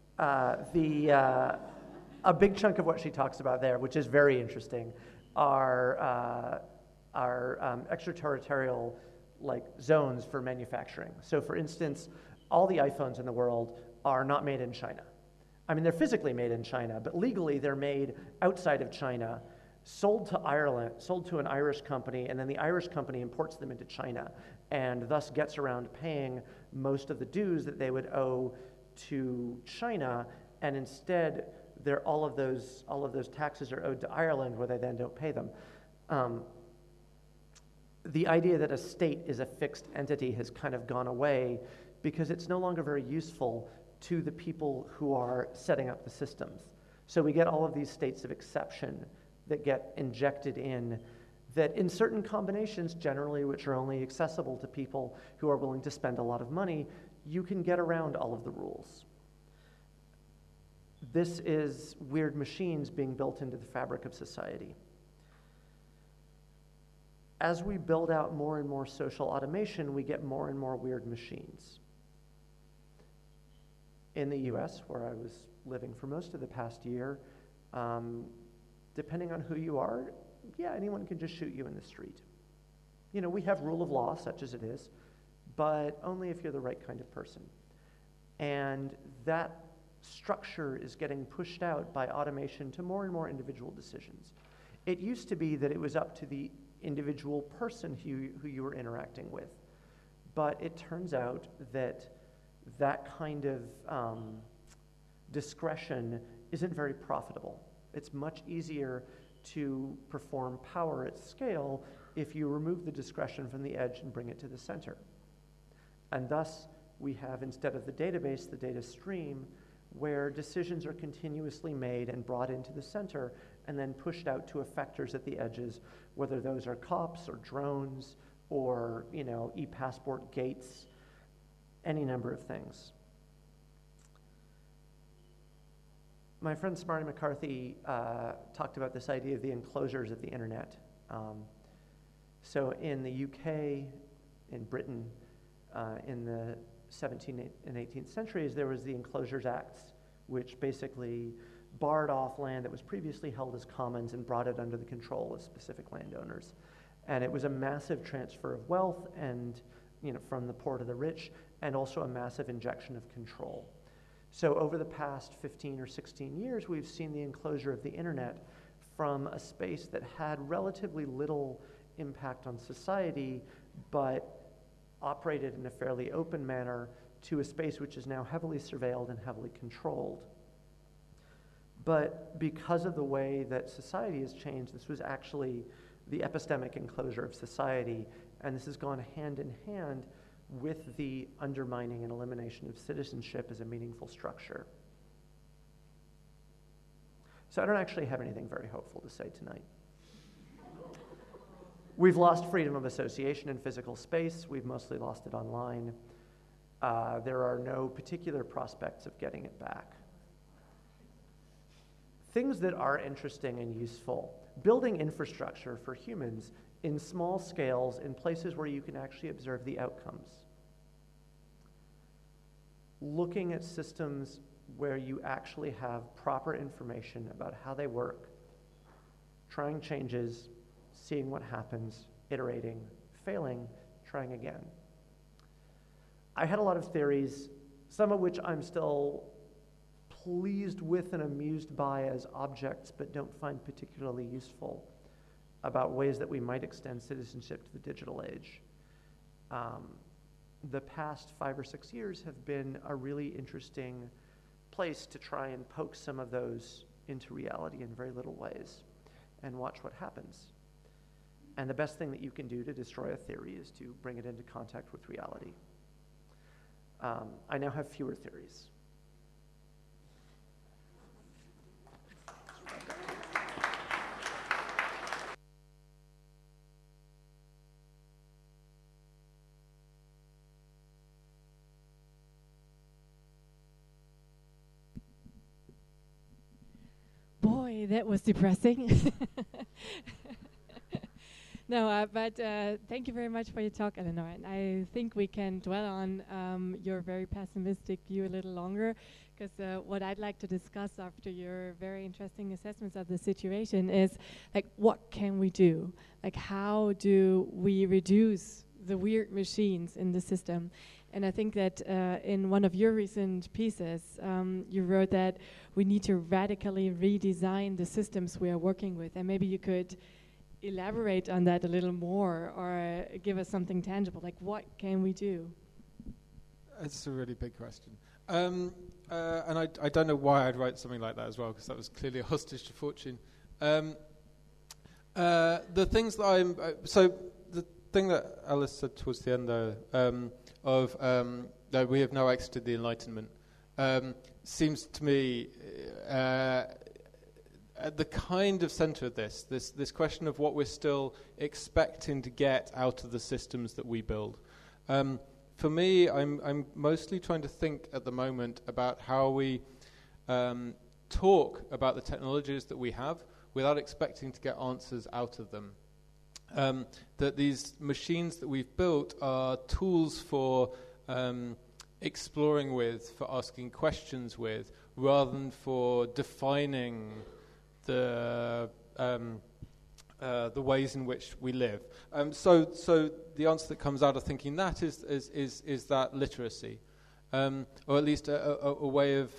S5: A big chunk of what she talks about there, which is very interesting, are extraterritorial zones for manufacturing. So for instance, all the iPhones in the world are not made in China. I mean, they're physically made in China, but legally they're made outside of China, sold to Ireland, sold to an Irish company, and then the Irish company imports them into China, and thus gets around paying most of the dues that they would owe to China, and instead all of those taxes are owed to Ireland, where they then don't pay them. The idea that a state is a fixed entity has kind of gone away because it's no longer very useful to the people who are setting up the systems. So we get all of these states of exception that get injected in, that in certain combinations, generally which are only accessible to people who are willing to spend a lot of money, you can get around all of the rules. This is weird machines being built into the fabric of society. As we build out more and more social automation, we get more and more weird machines. In the US, where I was living for most of the past year, depending on who you are, yeah, anyone can just shoot you in the street. We have rule of law, such as it is, but only if you're the right kind of person. And that structure is getting pushed out by automation to more and more individual decisions. It used to be that it was up to the individual person who you were interacting with, but it turns out that that kind of discretion isn't very profitable. It's much easier to perform power at scale if you remove the discretion from the edge and bring it to the center. And thus, we have, instead of the database, the data stream, where decisions are continuously made and brought into the center and then pushed out to effectors at the edges, whether those are cops or drones or e-passport gates, any number of things. My friend Smarty McCarthy talked about this idea of the enclosures of the internet. So in the UK, in Britain, in the 17th and 18th centuries, there was the Enclosures Acts, which basically barred off land that was previously held as commons and brought it under the control of specific landowners. And it was a massive transfer of wealth and, from the poor to the rich, and also a massive injection of control. So over the past 15 or 16 years, we've seen the enclosure of the internet from a space that had relatively little impact on society, but operated in a fairly open manner, to a space which is now heavily surveilled and heavily controlled. But because of the way that society has changed, this was actually the epistemic enclosure of society, and this has gone hand in hand with the undermining and elimination of citizenship as a meaningful structure. So I don't actually have anything very hopeful to say tonight. We've lost freedom of association in physical space. We've mostly lost it online. There are no particular prospects of getting it back. Things that are interesting and useful. Building infrastructure for humans in small scales in places where you can actually observe the outcomes. Looking at systems where you actually have proper information about how they work, trying changes, seeing what happens, iterating, failing, trying again. I had a lot of theories, some of which I'm still pleased with and amused by as objects, but don't find particularly useful, about ways that we might extend citizenship to the digital age. The past 5 or 6 years have been a really interesting place to try and poke some of those into reality in very little ways and watch what happens. And the best thing that you can do to destroy a theory is to bring it into contact with reality. I now have fewer theories.
S3: Boy, that was depressing. No, but thank you very much for your talk, Eleanor. And I think we can dwell on your very pessimistic view a little longer, because what I'd like to discuss after your very interesting assessments of the situation is, like, what can we do? Like, how do we reduce the weird machines in the system? And I think that in one of your recent pieces, you wrote that we need to radically redesign the systems we are working with. And maybe you could elaborate on that a little more, or give us something tangible, like what can we do?
S4: It's a really big question. And I don't know why I'd write something like that as well, because that was clearly a hostage to fortune. The things that so the thing that Alice said towards the end, though, that we have now exited the Enlightenment, seems to me at the kind of center of this question of what we're still expecting to get out of the systems that we build. For me, I'm mostly trying to think at the moment about how we talk about the technologies that we have without expecting to get answers out of them. That these machines that we've built are tools for exploring with, for asking questions with, rather than for defining the ways in which we live. So the answer that comes out of thinking that is that literacy, or at least a way of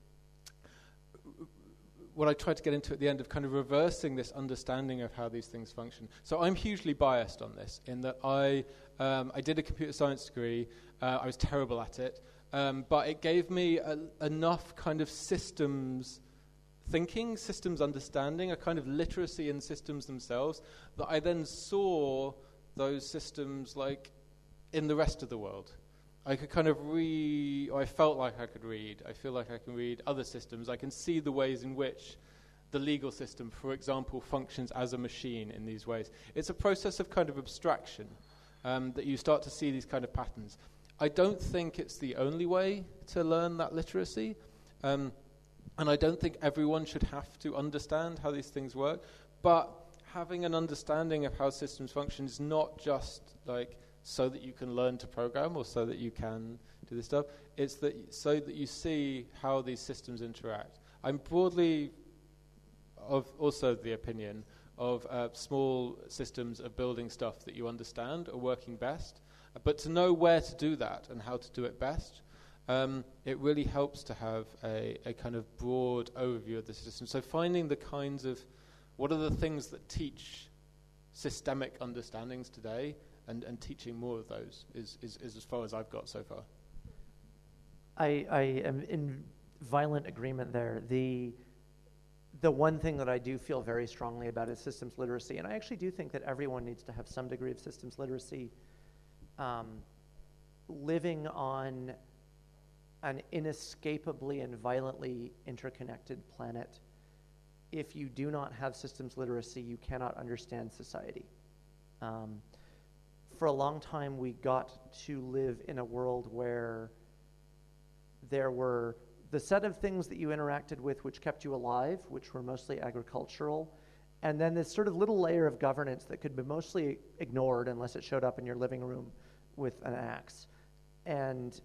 S4: what I tried to get into at the end of kind of reversing this understanding of how these things function. So I'm hugely biased on this, in that I did a computer science degree. I was terrible at it, but it gave me enough kind of systems thinking, systems understanding, a kind of literacy in systems themselves, that I then saw those systems like in the rest of the world. I could kind of read, or I felt like I could read. I feel like I can read other systems. I can see the ways in which the legal system, for example, functions as a machine in these ways. It's a process of kind of abstraction, that you start to see these kind of patterns. I don't think it's the only way to learn that literacy. And I don't think everyone should have to understand how these things work. But having an understanding of how systems function is not just like so that you can learn to program or so that you can do this stuff. It's that so that you see how these systems interact. I'm broadly also the opinion of small systems of building stuff that you understand are working best. But to know where to do that and how to do it best, it really helps to have a kind of broad overview of the system. So finding the kinds of, what are the things that teach systemic understandings today, and teaching more of those is as far as I've got so far.
S5: I am in violent agreement there. The one thing that I do feel very strongly about is systems literacy, and I actually do think that everyone needs to have some degree of systems literacy. Living on an inescapably and violently interconnected planet, if you do not have systems literacy, you cannot understand society. For a long time, we got to live in a world where there were the set of things that you interacted with which kept you alive, which were mostly agricultural, and then this sort of little layer of governance that could be mostly ignored unless it showed up in your living room with an axe. And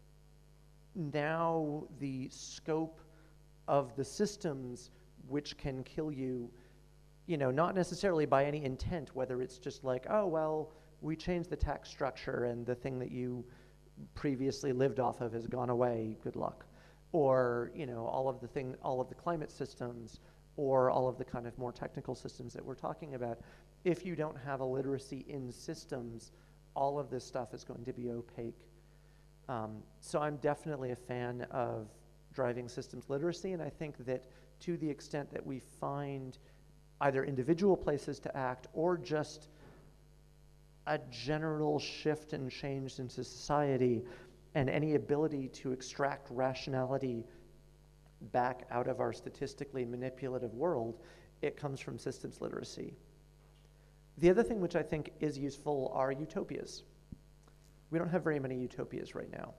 S5: now the scope of the systems which can kill you, not necessarily by any intent, whether it's just like, oh, well, we changed the tax structure and the thing that you previously lived off of has gone away, good luck. Or, all of the climate systems, or all of the kind of more technical systems that we're talking about. If you don't have a literacy in systems, all of this stuff is going to be opaque. So I'm definitely a fan of driving systems literacy, and I think that to the extent that we find either individual places to act or just a general shift and change into society, and any ability to extract rationality back out of our statistically manipulative world, it comes from systems literacy. The other thing which I think is useful are utopias. We don't have very many utopias right now.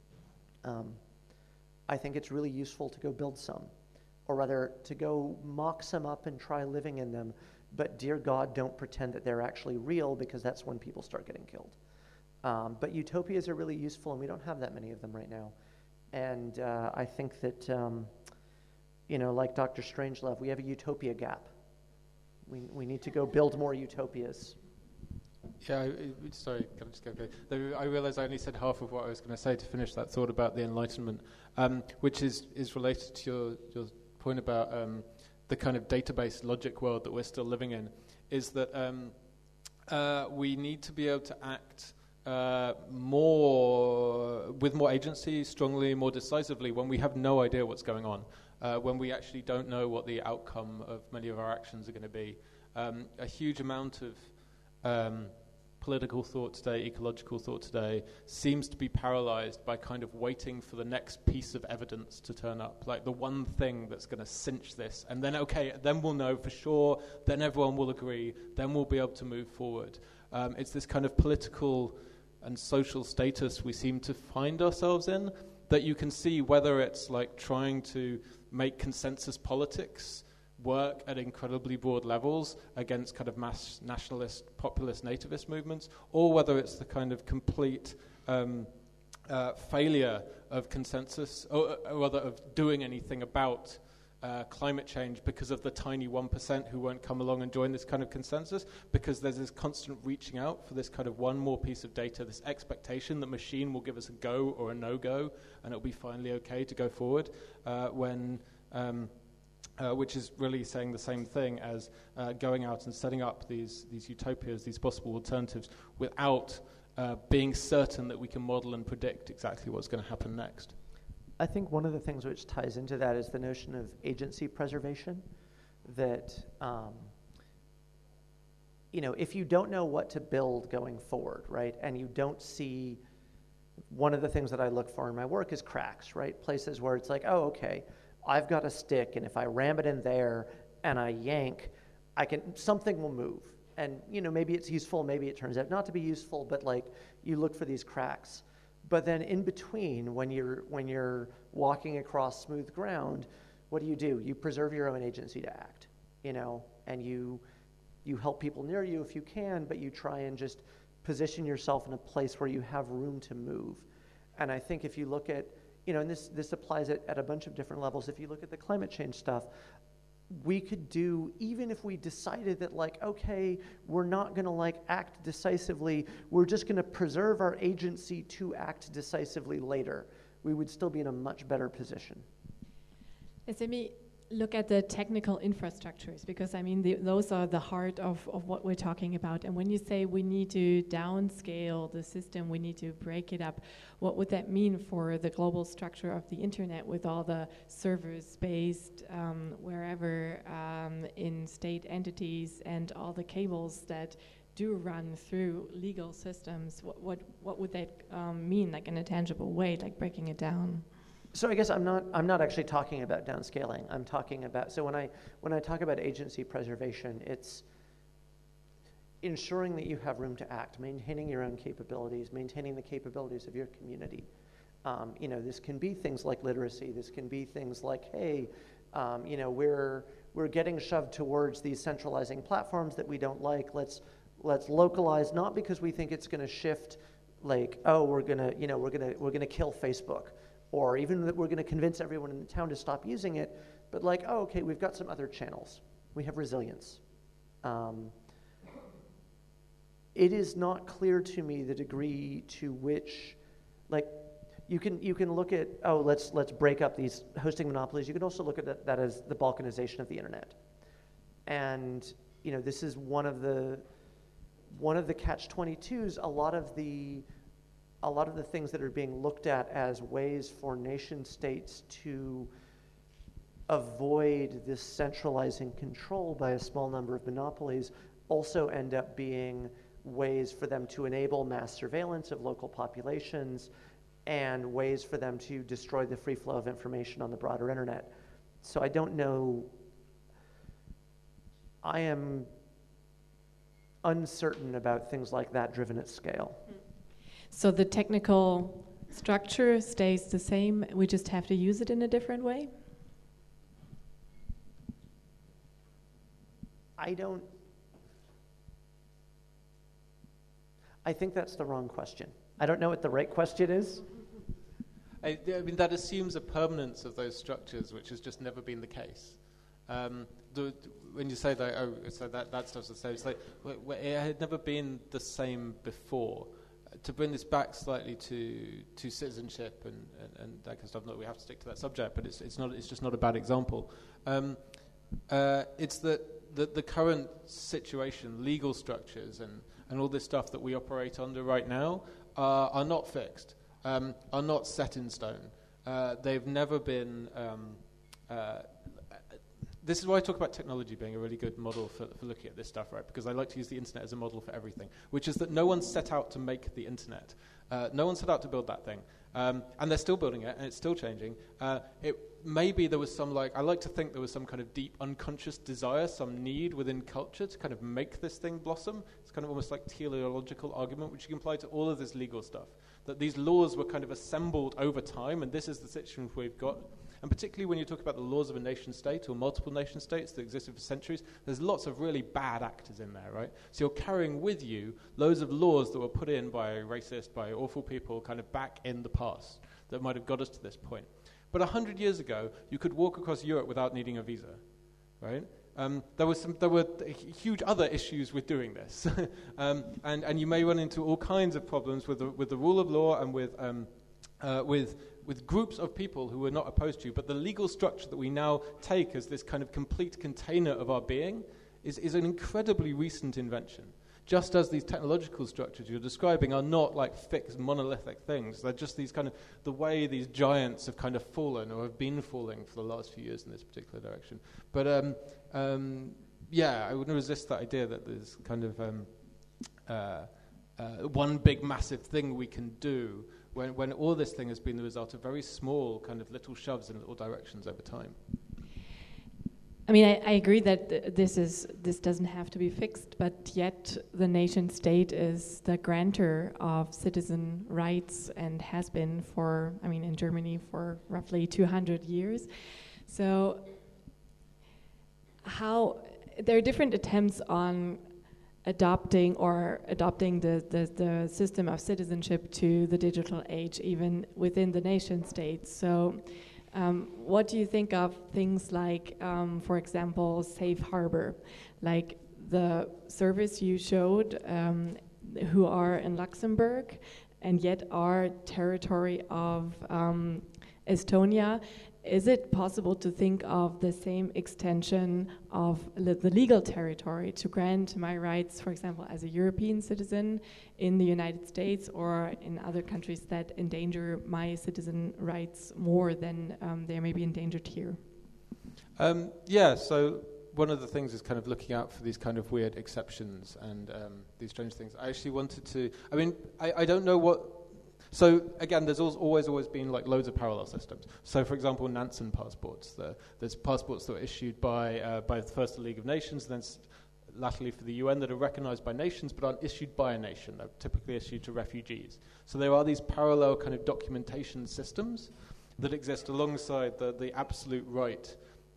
S5: I think it's really useful to go build some, or rather to go mock some up and try living in them, but dear God, don't pretend that they're actually real, because that's when people start getting killed. But utopias are really useful, and we don't have that many of them right now. And I think that, like Dr. Strangelove, we have a utopia gap. We need to go build more utopias.
S4: Yeah, sorry, can I just go? I realize I only said half of what I was going to say to finish that thought about the Enlightenment, which is related to your point about the kind of database logic world that we're still living in, is that we need to be able to act with more agency, strongly, more decisively, when we have no idea what's going on, when we actually don't know what the outcome of many of our actions are going to be. A huge amount of political thought today, ecological thought today, seems to be paralyzed by kind of waiting for the next piece of evidence to turn up, like the one thing that's going to cinch this, and then, okay, then we'll know for sure, then everyone will agree, then we'll be able to move forward. It's this kind of political and social status we seem to find ourselves in, that you can see whether it's like trying to make consensus politics work at incredibly broad levels against kind of mass nationalist, populist, nativist movements, or whether it's the kind of complete failure of consensus, or rather of doing anything about climate change because of the tiny 1% who won't come along and join this kind of consensus, because there's this constant reaching out for this kind of one more piece of data, this expectation that machine will give us a go or a no-go, and it'll be finally okay to go forward, which is really saying the same thing as going out and setting up these utopias, these possible alternatives, without being certain that we can model and predict exactly what's going to happen next.
S5: I think one of the things which ties into that is the notion of agency preservation, that if you don't know what to build going forward, right, and you don't see, one of the things that I look for in my work is cracks, right, places where it's like, oh, okay, I've got a stick, and if I ram it in there and I yank, something will move. And maybe it's useful, maybe it turns out not to be useful, but like you look for these cracks. But then in between, when you're walking across smooth ground, what do? You preserve your own agency to act, and you you help people near you if you can, but you try and just position yourself in a place where you have room to move. And I think if you look at, and this applies at a bunch of different levels, if you look at the climate change stuff, we could do, even if we decided that okay, we're not gonna act decisively, we're just gonna preserve our agency to act decisively later, we would still be in a much better position.
S3: Let me look at the technical infrastructures, because those are the heart of what we're talking about. And when you say we need to downscale the system, we need to break it up, what would that mean for the global structure of the internet with all the servers based wherever in state entities and all the cables that do run through legal systems? What would that mean, in a tangible way, breaking it down?
S5: So I guess I'm not actually talking about downscaling. I'm talking about, so when I talk about agency preservation, it's ensuring that you have room to act, maintaining your own capabilities, maintaining the capabilities of your community. This can be things like literacy. This can be things like, hey, we're getting shoved towards these centralizing platforms that we don't like. Let's localize, not because we think it's going to shift, we're gonna kill Facebook, or even that we're going to convince everyone in the town to stop using it, but okay, we've got some other channels. We have resilience. It is not clear to me the degree to which, you can look at, let's break up these hosting monopolies. You can also look at that as the balkanization of the internet. And, this is one of the catch-22s. A lot of the things that are being looked at as ways for nation states to avoid this centralizing control by a small number of monopolies also end up being ways for them to enable mass surveillance of local populations and ways for them to destroy the free flow of information on the broader internet. So I don't know. I am uncertain about things like that driven at scale.
S3: So the technical structure stays the same, we just have to use it in a different way?
S5: I think that's the wrong question. I don't know what the right question is.
S4: That assumes a permanence of those structures, which has just never been the case. When you say that, so that stuff's the same, it's it had never been the same before. To bring this back slightly to citizenship and that kind of stuff, not that we have to stick to that subject, but it's just not a bad example. It's that the current situation, legal structures and all this stuff that we operate under right now are not fixed, are not set in stone. They've never been. This is why I talk about technology being a really good model for looking at this stuff, right? Because I like to use the internet as a model for everything, which is that no one set out to make the internet. No one set out to build that thing. And they're still building it, and it's still changing. Maybe there was some, I like to think there was some kind of deep unconscious desire, some need within culture to kind of make this thing blossom. It's kind of almost like teleological argument, which you can apply to all of this legal stuff. That these laws were kind of assembled over time, and this is the situation we've got. And particularly when you talk about the laws of a nation state or multiple nation states that existed for centuries, there's lots of really bad actors in there, right? So you're carrying with you loads of laws that were put in by racist, by awful people kind of back in the past that might have got us to this point. But 100 years ago, you could walk across Europe without needing a visa, right? There were huge other issues with doing this. and you may run into all kinds of problems with the rule of law and with groups of people who were not opposed to you, but the legal structure that we now take as this kind of complete container of our being is an incredibly recent invention. Just as these technological structures you're describing are not fixed monolithic things, they're just these kind of, the way these giants have kind of fallen or have been falling for the last few years in this particular direction. But I wouldn't resist that idea that there's kind of one big massive thing we can do when all this thing has been the result of very small kind of little shoves in little directions over time.
S3: I mean, I agree that this doesn't have to be fixed, but yet the nation state is the grantor of citizen rights and has been in Germany for roughly 200 years. So how there are different attempts on adopting the system of citizenship to the digital age, even within the nation states. So what do you think of things like, for example, Safe Harbor, like the service you showed, who are in Luxembourg and yet are territory of Estonia? Is it possible to think of the same extension of the legal territory to grant my rights, for example, as a European citizen in the United States or in other countries that endanger my citizen rights more than they may be endangered here?
S4: Yeah, so one of the things is kind of looking out for these kind of weird exceptions and these strange things. I actually wanted to, I don't know what. So again, there's always been like loads of parallel systems. So for example, Nansen passports. There's passports that were issued by first the League of Nations, and then latterly for the UN, that are recognized by nations but aren't issued by a nation. They're typically issued to refugees. So there are these parallel kind of documentation systems that exist alongside the absolute right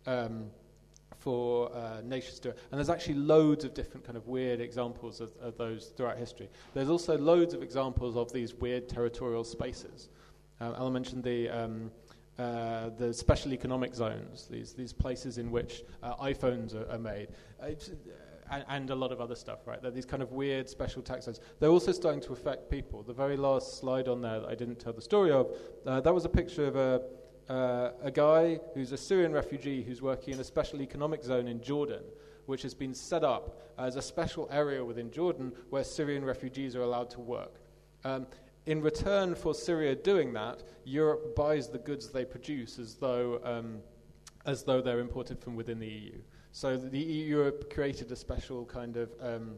S4: for nations to do it. And there's actually loads of different kind of weird examples of those throughout history. There's also loads of examples of these weird territorial spaces. Ella mentioned the special economic zones, these places in which iPhones are made, and a lot of other stuff, right? They're these kind of weird special tax zones. They're also starting to affect people. The very last slide on there that I didn't tell the story of, that was a picture of a guy who's a Syrian refugee who's working in a special economic zone in Jordan, which has been set up as a special area within Jordan where Syrian refugees are allowed to work. In return for Syria doing that, Europe buys the goods they produce as though they're imported from within the EU. So Europe created a special kind of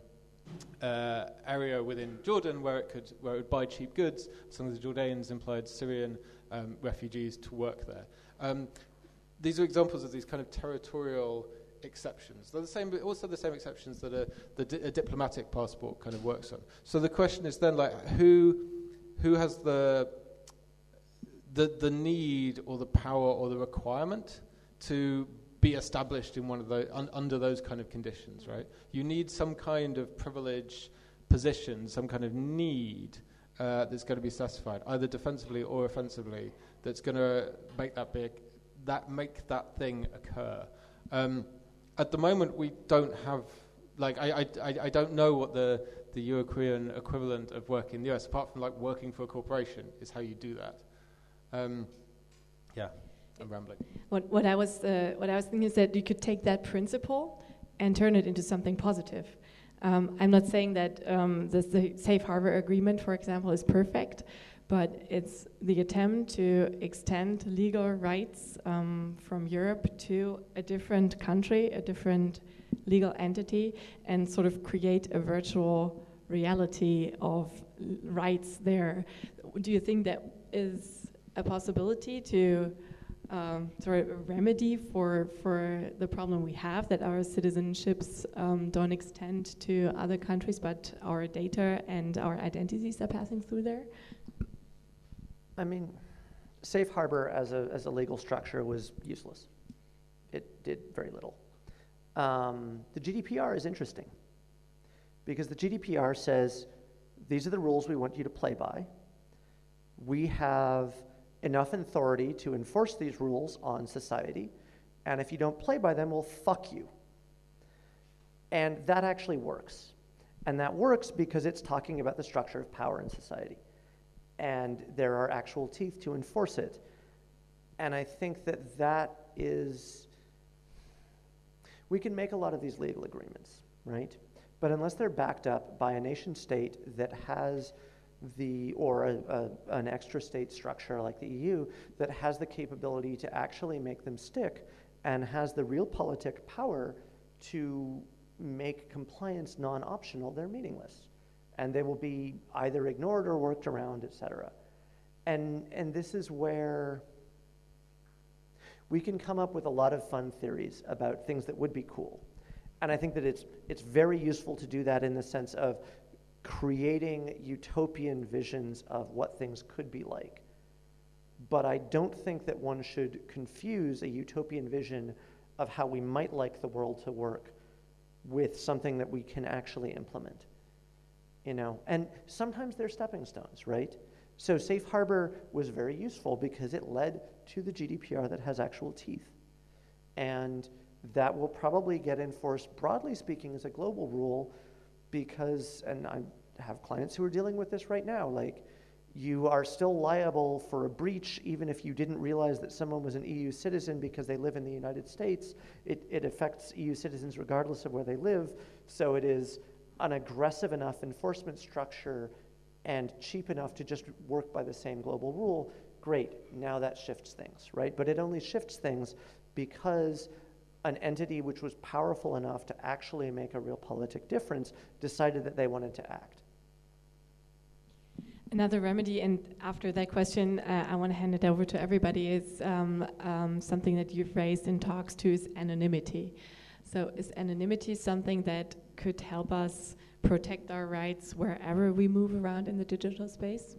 S4: area within Jordan where it would buy cheap goods. Some of the Jordanians employed Syrian refugees to work there. These are examples of these kind of territorial exceptions. They're the same, but also the same exceptions that a diplomatic passport kind of works on. So the question is then, like, who has the need or the power or the requirement to be established in one of those under those kind of conditions, right? You need some kind of privilege position, some kind of need that's going to be satisfied, either defensively or offensively, that's going to make that thing occur. At the moment, we don't have, like, I don't know what the Euro-Korean equivalent of working in the US, apart from like working for a corporation, is how you do that. Yeah, I'm rambling.
S3: What I was thinking is that you could take that principle and turn it into something positive. I'm not saying that the Safe Harbor Agreement, for example, is perfect, but it's the attempt to extend legal rights from Europe to a different country, a different legal entity, and sort of create a virtual reality of rights there. Do you think that is a possibility to sort of a remedy for the problem we have, that our citizenships don't extend to other countries, but our data and our identities are passing through there?
S5: I mean, Safe Harbor as a legal structure was useless. It did very little. The GDPR is interesting because the GDPR says, these are the rules we want you to play by. We have enough authority to enforce these rules on society, and if you don't play by them, we'll fuck you. And that actually works. And that works because it's talking about the structure of power in society. And there are actual teeth to enforce it. And I think that is, we can make a lot of these legal agreements, right? But unless they're backed up by a nation state that has an extra state structure like the EU that has the capability to actually make them stick and has the realpolitik power to make compliance non-optional, they're meaningless. And they will be either ignored or worked around, etc. And this is where we can come up with a lot of fun theories about things that would be cool. And I think that it's very useful to do that in the sense of creating utopian visions of what things could be like. But I don't think that one should confuse a utopian vision of how we might like the world to work with something that we can actually implement, you know? And sometimes they're stepping stones, right? So Safe Harbor was very useful because it led to the GDPR that has actual teeth. And that will probably get enforced, broadly speaking, as a global rule because, and I have clients who are dealing with this right now, like, you are still liable for a breach even if you didn't realize that someone was an EU citizen because they live in the United States. It affects EU citizens regardless of where they live. So it is an aggressive enough enforcement structure and cheap enough to just work by the same global rule. Great, now that shifts things, right? But it only shifts things because an entity which was powerful enough to actually make a real politic difference decided that they wanted to act.
S3: Another remedy, and after that question, I want to hand it over to everybody, is something that you've raised in talks too, is anonymity. So is anonymity something that could help us protect our rights wherever we move around in the digital space?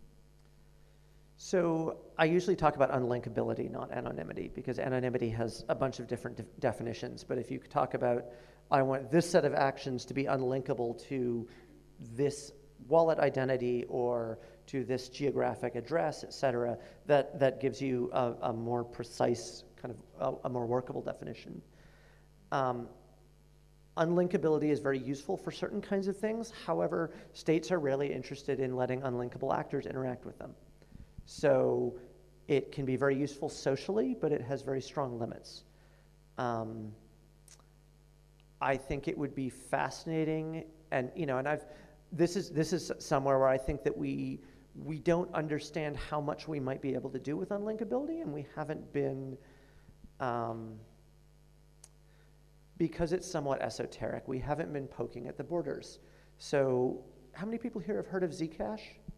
S5: So I usually talk about unlinkability, not anonymity, because anonymity has a bunch of different definitions. But if you talk about, I want this set of actions to be unlinkable to this wallet identity or to this geographic address, et cetera, that gives you a more precise, kind of a more workable definition. Unlinkability is very useful for certain kinds of things. However, states are rarely interested in letting unlinkable actors interact with them. So it can be very useful socially, but it has very strong limits. I think it would be fascinating, and this is somewhere where I think that we don't understand how much we might be able to do with unlinkability, and we haven't been, because it's somewhat esoteric, we haven't been poking at the borders. So how many people here have heard of Zcash?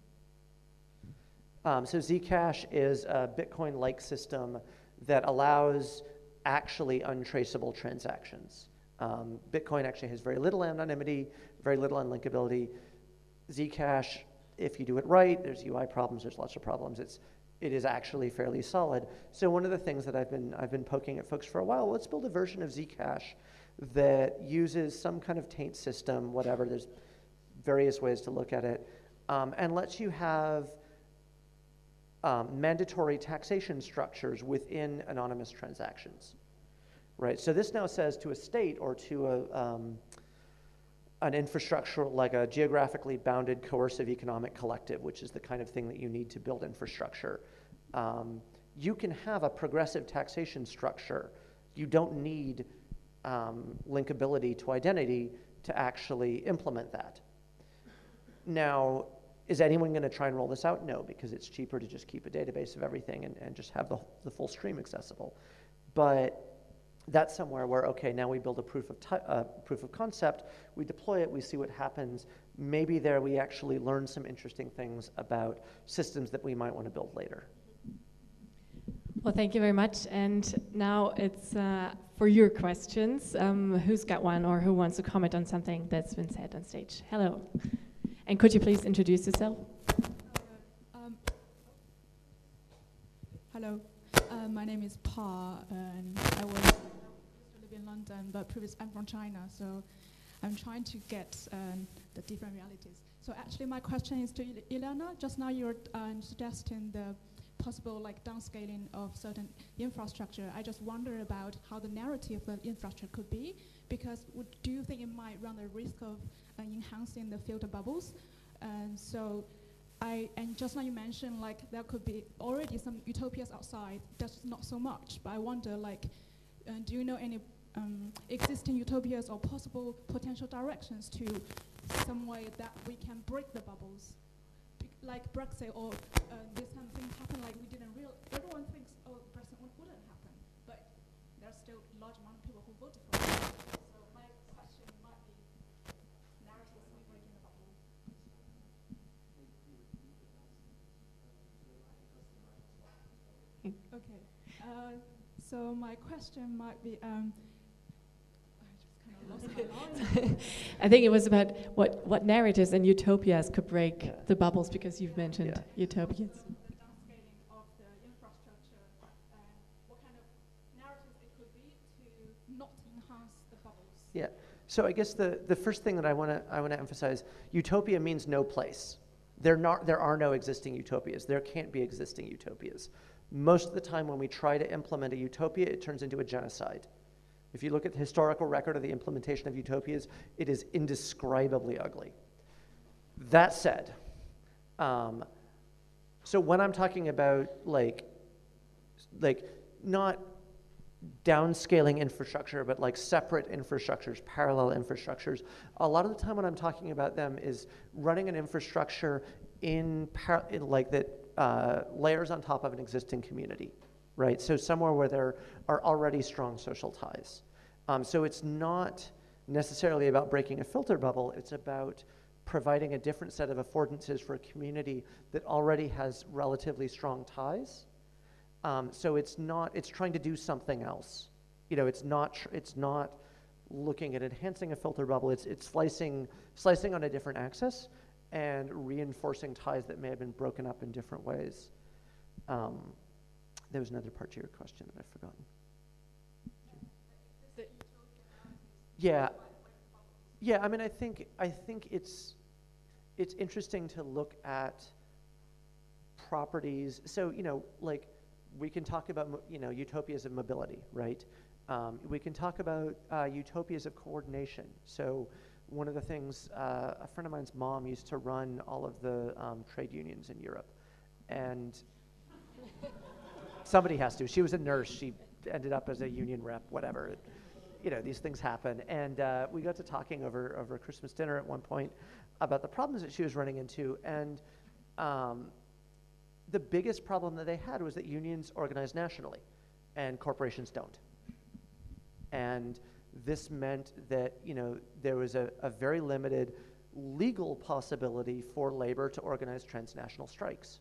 S5: So Zcash is a Bitcoin-like system that allows actually untraceable transactions. Bitcoin actually has very little anonymity, very little unlinkability. Zcash, if you do it right, there's UI problems, there's lots of problems. It is actually fairly solid. So one of the things that I've been poking at folks for a while, let's build a version of Zcash that uses some kind of taint system, whatever. There's various ways to look at it, and lets you have mandatory taxation structures within anonymous transactions, right? So this now says to a state or to an infrastructure like a geographically bounded coercive economic collective, which is the kind of thing that you need to build infrastructure. You can have a progressive taxation structure. You don't need linkability to identity to actually implement that. Now, is anyone going to try and roll this out? No, because it's cheaper to just keep a database of everything and just have the full stream accessible. But that's somewhere where, okay, now we build a proof of concept, we deploy it, we see what happens. Maybe there we actually learn some interesting things about systems that we might want to build later.
S3: Well, thank you very much. And now it's for your questions. Who's got one or who wants to comment on something that's been said on stage? Hello. And could you please introduce yourself?
S6: Hello. My name is Pa, and I used to live in London, but I'm from China, so I'm trying to get the different realities. So actually, my question is to Ileana. Just now, you're suggesting the possible downscaling of certain infrastructure. I just wonder about how the narrative of infrastructure could be, because do you think it might run the risk of enhancing the filter bubbles? And just now you mentioned there could be already some utopias outside, that's not so much, but I wonder do you know any existing utopias or possible potential directions to some way that we can break the bubbles? Like Brexit or this kind of thing happen, we didn't realize, everyone thinks, oh, Brexit wouldn't happen, but there's still a large amount of people who voted for it. So my question might be, narratives we breaking the bubble. Okay, so my question might be,
S3: I think it was about what narratives and utopias could break the bubbles, because you've mentioned utopias.
S6: The downscaling of the infrastructure, what kind of narratives it could be to not enhance the bubbles.
S5: Yeah, So I guess the first thing that I want to emphasize, utopia means no place. There are no existing utopias. There can't be existing utopias. Most of the time when we try to implement a utopia, it turns into a genocide. If you look at the historical record of the implementation of utopias, it is indescribably ugly. That said, so when I'm talking about like not downscaling infrastructure, but like separate infrastructures, parallel infrastructures, a lot of the time when I'm talking about them is running an infrastructure in like that layers on top of an existing community, right? So somewhere where there are already strong social ties. So it's not necessarily about breaking a filter bubble, it's about providing a different set of affordances for a community that already has relatively strong ties. So it's trying to do something else. You know, it's not looking at enhancing a filter bubble, it's slicing on a different axis and reinforcing ties that may have been broken up in different ways. There was another part to your question that I've forgotten. Yeah. I mean, I think it's interesting to look at properties. So, you know, like we can talk about, you know, utopias of mobility, right? We can talk about utopias of coordination. So one of the things, a friend of mine's mom used to run all of the trade unions in Europe. And somebody has to. She was a nurse. She ended up as a union rep, whatever. You know, these things happen. And we got to talking over Christmas dinner at one point about the problems that she was running into. And the biggest problem that they had was that unions organize nationally and corporations don't. And this meant that, you know, there was a very limited legal possibility for labor to organize transnational strikes.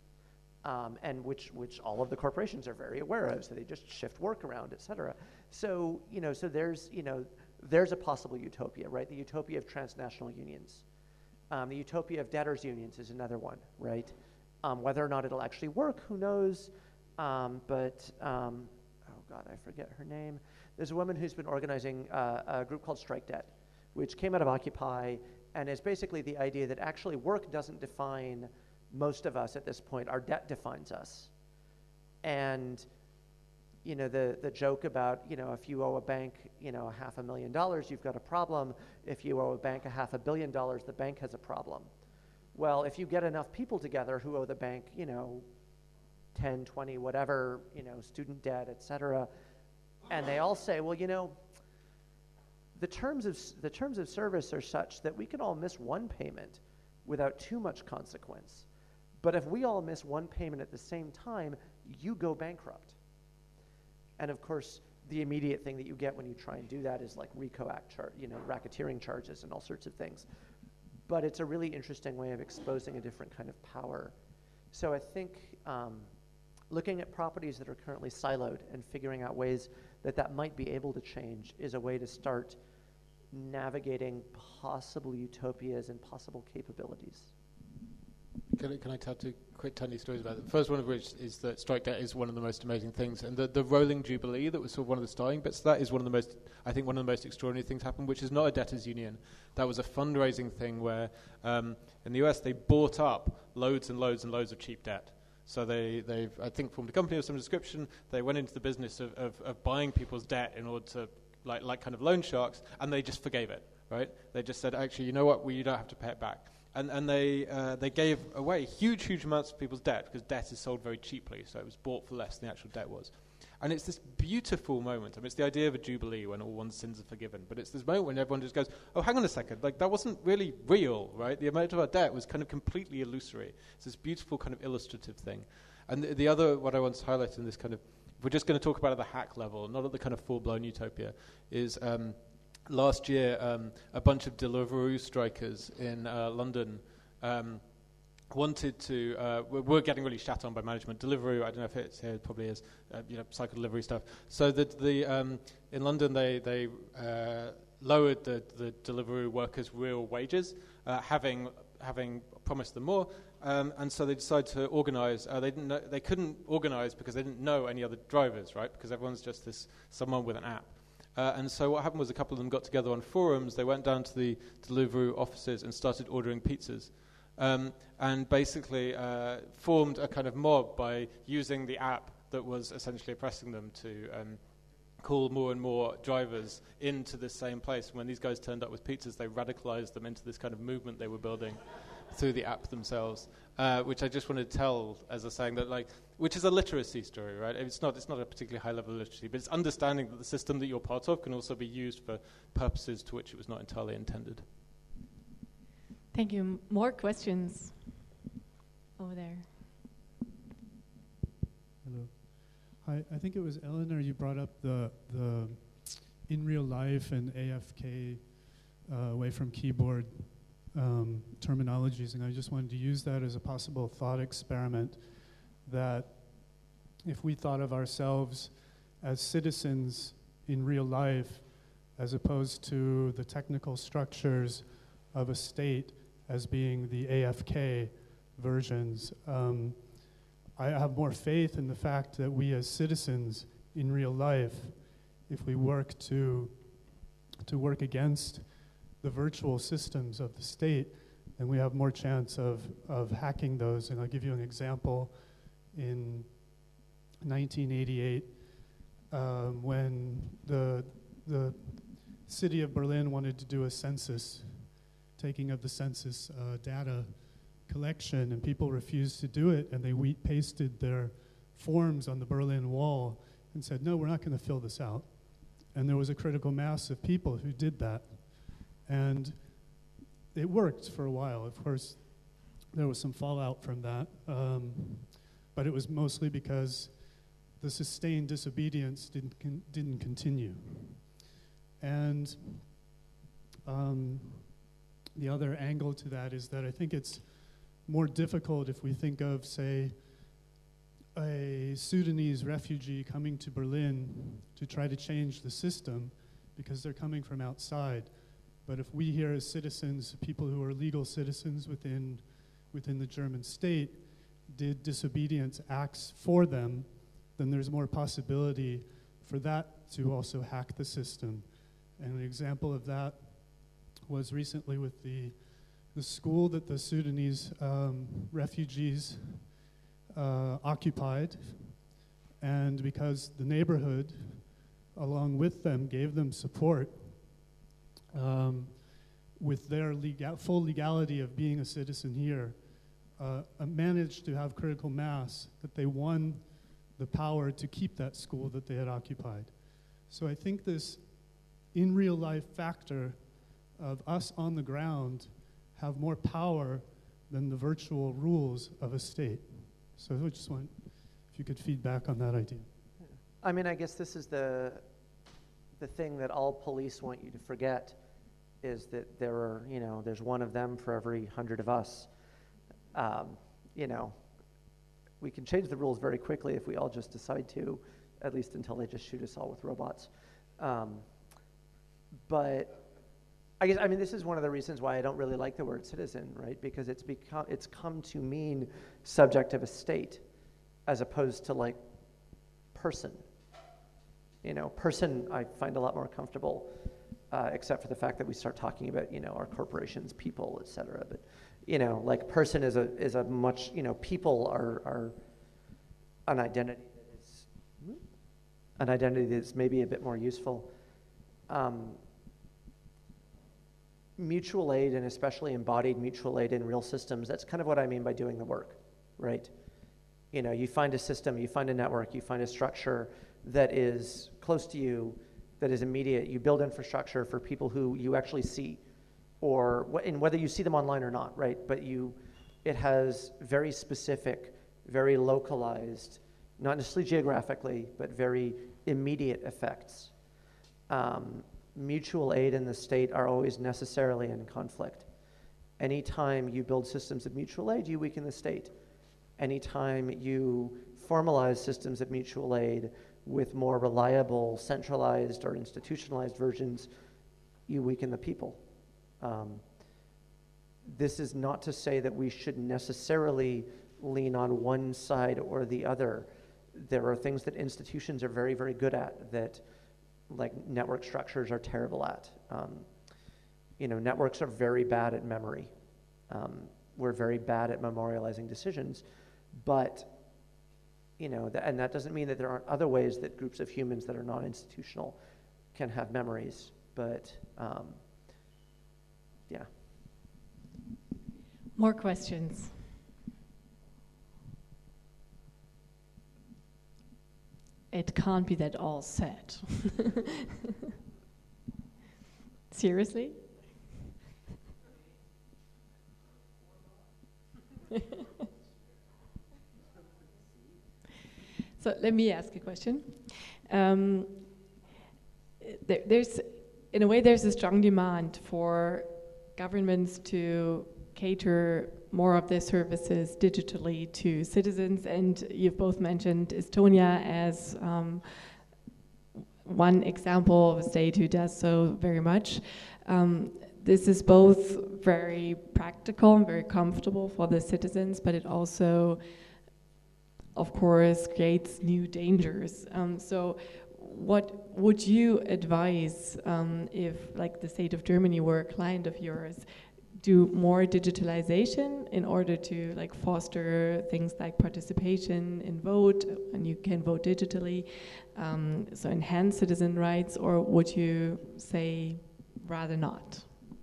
S5: And which all of the corporations are very aware of, so they just shift work around, et cetera. So, you know, so there's a possible utopia, right? The utopia of transnational unions. The utopia of debtors' unions is another one, right? Whether or not it'll actually work, who knows? Oh God, I forget her name. There's a woman who's been organizing a group called Strike Debt, which came out of Occupy, and is basically the idea that actually work doesn't define most of us at this point. Our debt defines us. And, you know, the joke about, you know, if you owe a bank, you know, $500,000, you've got a problem. If you owe a bank $500 million, the bank has a problem. Well, if you get enough people together who owe the bank, you know, 10, 20, whatever, you know, student debt, et cetera, and they all say, well, you know, the terms of service are such that we can all miss one payment without too much consequence. But if we all miss one payment at the same time, you go bankrupt. And of course, the immediate thing that you get when you try and do that is like RICO Act, racketeering charges and all sorts of things. But it's a really interesting way of exposing a different kind of power. So I think looking at properties that are currently siloed and figuring out ways that might be able to change is a way to start navigating possible utopias and possible capabilities.
S4: Can I tell two quick tiny stories about it? The first one of which is that Strike Debt is one of the most amazing things, and the rolling jubilee that was sort of one of the starting bits of that is one of the most extraordinary things happened, which is not a debtors union. That was a fundraising thing where in the US they bought up loads and loads and loads of cheap debt. So they've I think formed a company of some description. They went into the business of buying people's debt in order to like kind of loan sharks, and they just forgave it, right? They just said, actually, you know what, you don't have to pay it back. And they gave away huge amounts of people's debt because debt is sold very cheaply, so it was bought for less than the actual debt was. And it's this beautiful moment. I mean, it's the idea of a jubilee when all one's sins are forgiven, but it's this moment when everyone just goes, oh, hang on a second, like that wasn't really real, right? The amount of our debt was kind of completely illusory. It's this beautiful kind of illustrative thing. And the other, what I want to highlight in this kind of, if we're just going to talk about at the hack level, not at the kind of full-blown utopia, is last year, a bunch of Deliveroo strikers in London wanted to. We're getting really shat on by management. Deliveroo, I don't know if it's here, it probably is. Cycle delivery stuff. So that in London they lowered the Deliveroo workers' real wages, having promised them more, and so they decided to organise. They couldn't organise because they didn't know any other drivers, right? Because everyone's just someone with an app. And so what happened was a couple of them got together on forums. They went down to the Deliveroo offices and started ordering pizzas. And basically formed a kind of mob by using the app that was essentially oppressing them to call more and more drivers into the same place. When these guys turned up with pizzas, they radicalized them into this kind of movement they were building through the app themselves, which I just wanted to tell as a saying that, like, which is a literacy story, right? It's not a particularly high level of literacy, but it's understanding that the system that you're part of can also be used for purposes to which it was not entirely intended.
S3: Thank you. More questions over there.
S7: Hello. Hi, I think it was Eleanor, you brought up the in real life and AFK away from keyboard terminologies, and I just wanted to use that as a possible thought experiment, that if we thought of ourselves as citizens in real life as opposed to the technical structures of a state as being the AFK versions, I have more faith in the fact that we as citizens in real life, if we work to work against the virtual systems of the state, then we have more chance of hacking those. And I'll give you an example. In 1988, when the city of Berlin wanted to do a census, taking of the census data collection, and people refused to do it, and they pasted their forms on the Berlin Wall and said, no, we're not going to fill this out. And there was a critical mass of people who did that. And it worked for a while. Of course, there was some fallout from that, but it was mostly because the sustained disobedience didn't continue. And the other angle to that is that I think it's more difficult if we think of, say, a Sudanese refugee coming to Berlin to try to change the system because they're coming from outside. But if we here as citizens, people who are legal citizens within the German state, did disobedience acts for them, then there's more possibility for that to also hack the system. And an example of that was recently with the school that the Sudanese refugees occupied, and because the neighborhood, along with them, gave them support with their full legality of being a citizen here, managed to have critical mass that they won the power to keep that school that they had occupied. So I think this in real life factor of us on the ground have more power than the virtual rules of a state. So I just want, if you could feed back on that idea.
S5: I mean, I guess this is the thing that all police want you to forget, is that there are, there's one of them for every 100 of us. We can change the rules very quickly if we all just decide to, at least until they just shoot us all with robots. But I guess, this is one of the reasons why I don't really like the word citizen, right? Because it's come to mean subject of a state, as opposed to like person. Person I find a lot more comfortable, except for the fact that we start talking about, our corporations, people, et cetera. But, like person is a much, people are an identity that's maybe a bit more useful. Mutual aid, and especially embodied mutual aid in real systems, that's kind of what I mean by doing the work, right? You find a system, you find a network, you find a structure that is close to you, that is immediate. You build infrastructure for people who you actually see, and whether you see them online or not, right? But it has very specific, very localized, not necessarily geographically, but very immediate effects. Mutual aid and the state are always necessarily in conflict. Anytime you build systems of mutual aid, you weaken the state. Anytime you formalize systems of mutual aid with more reliable, centralized, or institutionalized versions, you weaken the people. This is not to say that we should necessarily lean on one side or the other. There are things that institutions are very, very good at that like network structures are terrible at. Networks are very bad at memory. We're very bad at memorializing decisions, but and that doesn't mean that there aren't other ways that groups of humans that are non-institutional can have memories, but yeah.
S3: More questions? It can't be that all set. Seriously? So let me ask a question. There's, in a way, there's a strong demand for governments to cater more of their services digitally to citizens, and you've both mentioned Estonia as one example of a state who does so very much. This is both very practical and very comfortable for the citizens, but it also, of course, creates new dangers. So what would you advise if, like, the state of Germany were a client of yours, do more digitalization in order to, like, foster things like participation in vote, and you can vote digitally, so enhance citizen rights, or would you say rather not?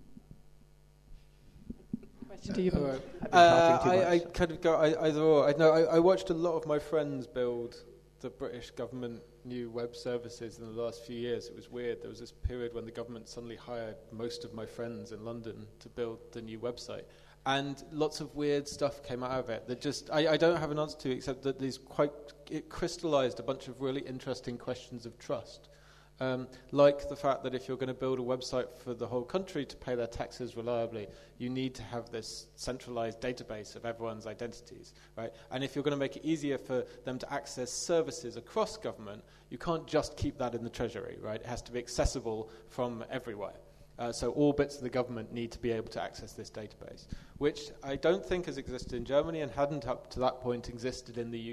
S3: Question to you both.
S4: I kind of go either or. I watched a lot of my friends build the British government new web services in the last few years. It was weird. There was this period when the government suddenly hired most of my friends in London to build the new website. And lots of weird stuff came out of it that just, I don't have an answer to, except that it crystallized a bunch of really interesting questions of trust. Like the fact that if you're going to build a website for the whole country to pay their taxes reliably, you need to have this centralized database of everyone's identities, right? And if you're going to make it easier for them to access services across government, you can't just keep that in the Treasury, right? It has to be accessible from everywhere. So all bits of the government need to be able to access this database, which I don't think has existed in Germany and hadn't up to that point existed in the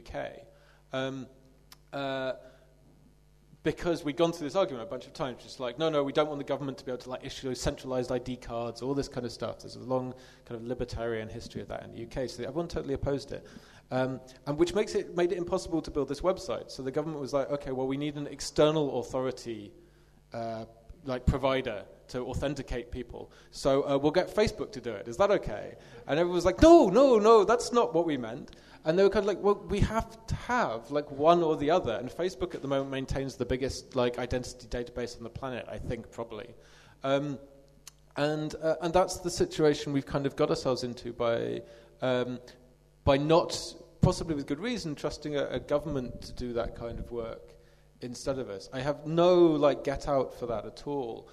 S4: UK. Because we'd gone through this argument a bunch of times, just like, no, we don't want the government to be able to, like, issue centralized ID cards, all this kind of stuff. There's a long kind of libertarian history of that in the UK, so everyone totally opposed it. And which made it impossible to build this website. So the government was like, okay, well, we need an external authority, provider to authenticate people. So we'll get Facebook to do it. Is that okay? And everyone was like, no, that's not what we meant. And they were kind of like, well, we have to have, like, one or the other. And Facebook at the moment maintains the biggest, like, identity database on the planet, I think, probably. And that's the situation we've kind of got ourselves into by not, possibly with good reason, trusting a government to do that kind of work instead of us. I have no, like, get out for that at all.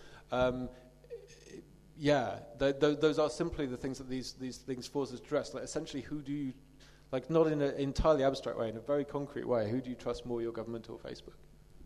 S4: Those are simply the things that these things force us to address. Like, essentially, who do you, like, not in an entirely abstract way, in a very concrete way, who do you trust more, your government or Facebook?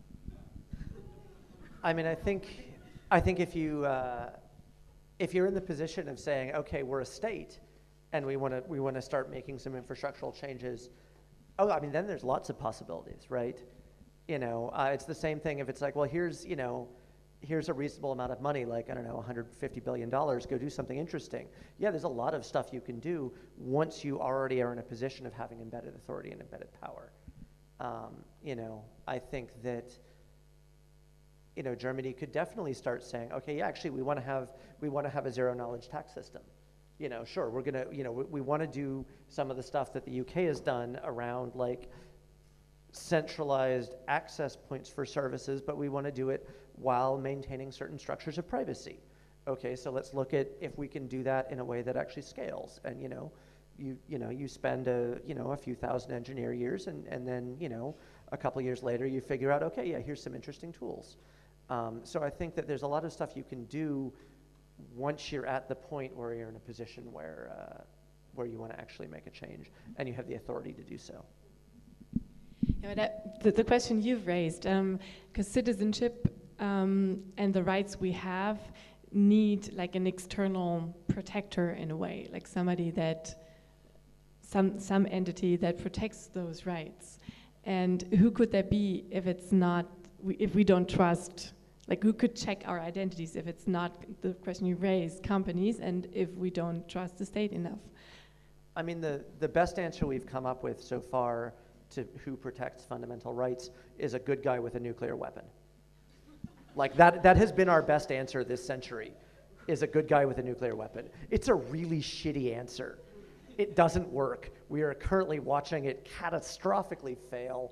S5: I mean, I think if you're in the position of saying, okay, we're a state, and we want to start making some infrastructural changes, then there's lots of possibilities, right? It's the same thing if it's like, well, here's a reasonable amount of money, like, I don't know, $150 billion, go do something interesting. Yeah, there's a lot of stuff you can do once you already are in a position of having embedded authority and embedded power. I think that, Germany could definitely start saying, okay, yeah, actually, we want to have a zero knowledge tax system. Sure, we're gonna, we want to do some of the stuff that the UK has done around, like, centralized access points for services, but we want to do it while maintaining certain structures of privacy. Okay, so let's look at if we can do that in a way that actually scales. And you spend a few thousand engineer years, and then a couple years later you figure out, okay, yeah, here's some interesting tools. So I think that there's a lot of stuff you can do once you're at the point where you're in a position where you want to actually make a change and you have the authority to do so.
S3: Yeah, the question you've raised, because citizenship and the rights we have need, like, an external protector in a way, like somebody that, some entity that protects those rights. And who could that be if it's not, if we don't trust Like, who could check our identities if it's not the question you raised, companies, and if we don't trust the state enough?
S5: I mean, the best answer we've come up with so far to who protects fundamental rights is a good guy with a nuclear weapon. Like, that has been our best answer this century, is a good guy with a nuclear weapon. It's a really shitty answer. It doesn't work. We are currently watching it catastrophically fail.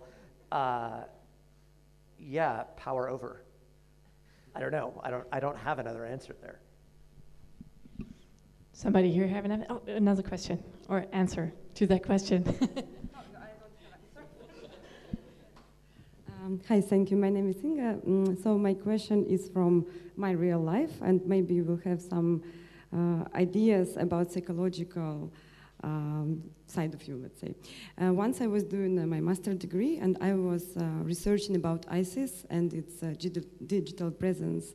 S5: Yeah, power over. I don't know. I don't have another answer there.
S3: Somebody here have another question or answer to that question?
S8: Hi, thank you. My name is Inga. So my question is from my real life, and maybe you will have some ideas about psychological side of you, let's say. Once I was doing my master's degree, and I was researching about ISIS and its digital presence,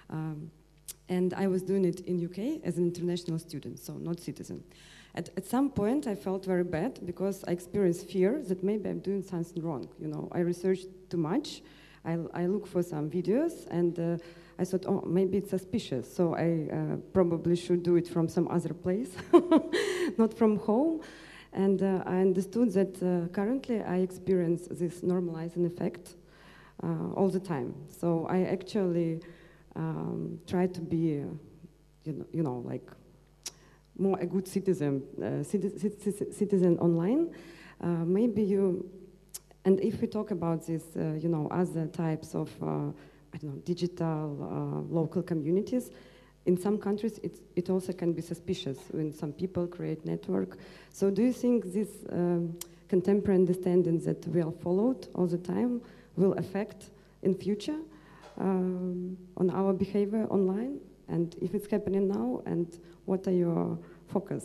S8: and I was doing it in UK as an international student, so not citizen. At some point, I felt very bad because I experienced fear that maybe I'm doing something wrong. You know, I researched too much. I look for some videos, and I thought, oh, maybe it's suspicious. So I probably should do it from some other place, not from home. And I understood that currently I experience this normalizing effect all the time. So I actually try to be, you know, like, more a good citizen, citizen online. Maybe you, and if we talk about this, you know, other types of, I don't know, digital local communities, in some countries it also can be suspicious when some people create network. So do you think this contemporary understanding that we are followed all the time will affect in future on our behavior online? And if it's happening now, and what are your focus?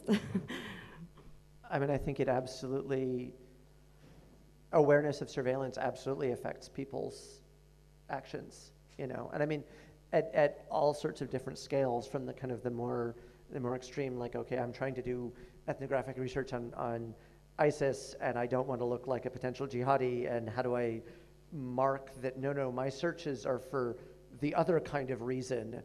S5: I mean, I think it absolutely, awareness of surveillance absolutely affects people's actions, you know. And I mean, at all sorts of different scales, from the kind of the more extreme, like, okay, I'm trying to do ethnographic research on ISIS, and I don't want to look like a potential jihadi, and how do I mark that, no, my searches are for the other kind of reason.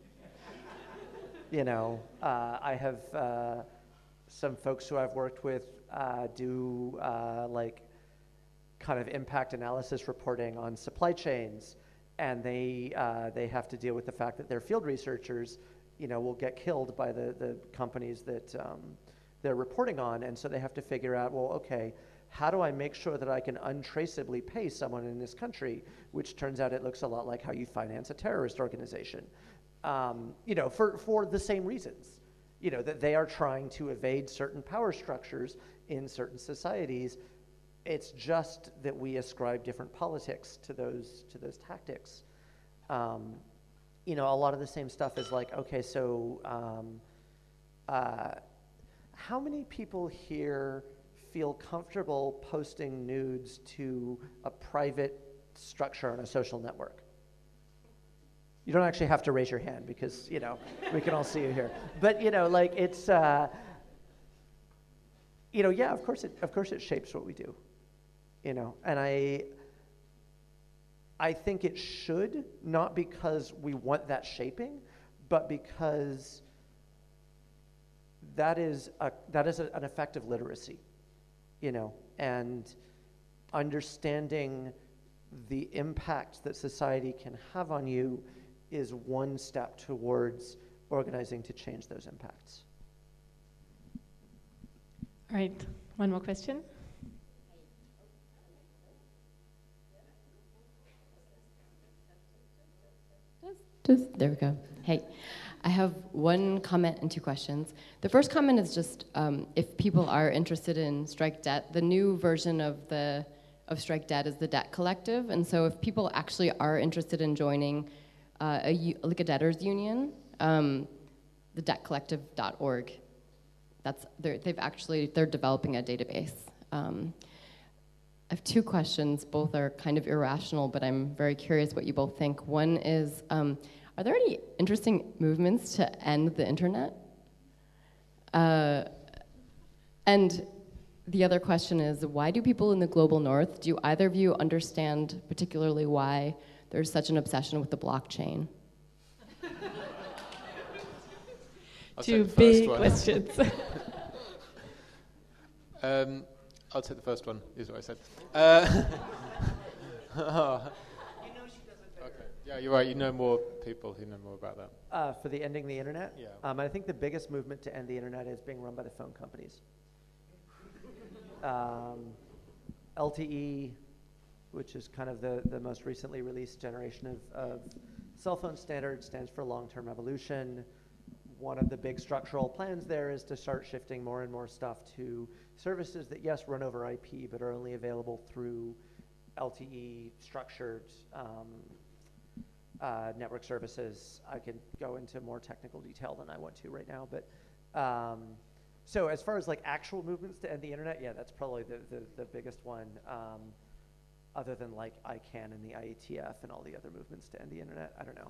S5: You know, I have some folks who I've worked with do like kind of impact analysis reporting on supply chains, and they have to deal with the fact that their field researchers, you know, will get killed by the companies that they're reporting on, and so they have to figure out, well, okay, how do I make sure that I can untraceably pay someone in this country, which turns out it looks a lot like how you finance a terrorist organization. You know, for the same reasons, you know, that they are trying to evade certain power structures in certain societies. It's just that we ascribe different politics to those tactics. You know, a lot of the same stuff is like, okay, so how many people here feel comfortable posting nudes to a private structure on a social network? You don't actually have to raise your hand because, you know, we can all see you here. But, you know, like, it's, you know, yeah, of course it shapes what we do, you know. And I think it should, not because we want that shaping, but because that is an effective literacy, you know, and understanding the impact that society can have on you is one step towards organizing to change those impacts.
S3: All right, one more question.
S9: There we go. Hey, I have one comment and two questions. The first comment is just if people are interested in Strike Debt, the new version of Strike Debt is the Debt Collective, and so if people actually are interested in joining like a debtors union, the debtcollective.org. They're developing a database. I have two questions. Both are kind of irrational, but I'm very curious what you both think. One is, are there any interesting movements to end the internet? And the other question is, why do people in the global north, do either of you understand particularly why there's such an obsession with the blockchain?
S3: Two big questions.
S4: I'll take the first one, is what I said. Okay. Yeah, you're right. You know more people who know more about that.
S5: For the ending the internet?
S4: Yeah.
S5: I think the biggest movement to end the internet is being run by the phone companies. LTE, which is kind of the most recently released generation of cell phone standards, stands for long-term evolution. One of the big structural plans there is to start shifting more and more stuff to services that, yes, run over IP, but are only available through LTE structured network services. I could go into more technical detail than I want to right now, but so as far as like actual movements to end the internet, yeah, that's probably the biggest one, other than like ICANN and the IETF and all the other movements to end the internet. I don't know.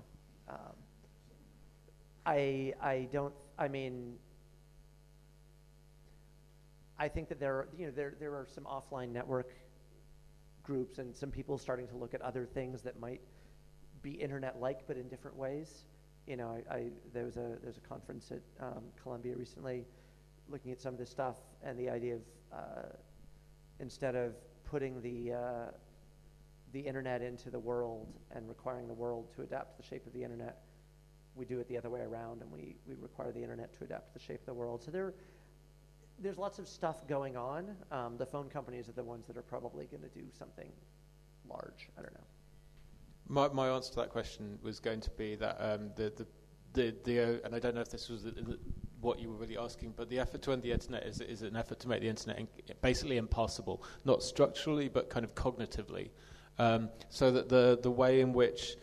S5: I think that there are some offline network groups and some people starting to look at other things that might be internet-like but in different ways. You know, there's a conference at Columbia recently looking at some of this stuff, and the idea of instead of putting the internet into the world and requiring the world to adapt to the shape of the internet, we do it the other way around, and we require the internet to adapt to the shape of the world. So there's lots of stuff going on. The phone companies are the ones that are probably going to do something large. I don't know.
S4: My answer to that question was going to be that and I don't know if this was what you were really asking, but the effort to end the internet is an effort to make the internet basically impossible, not structurally but kind of cognitively, so that the way in which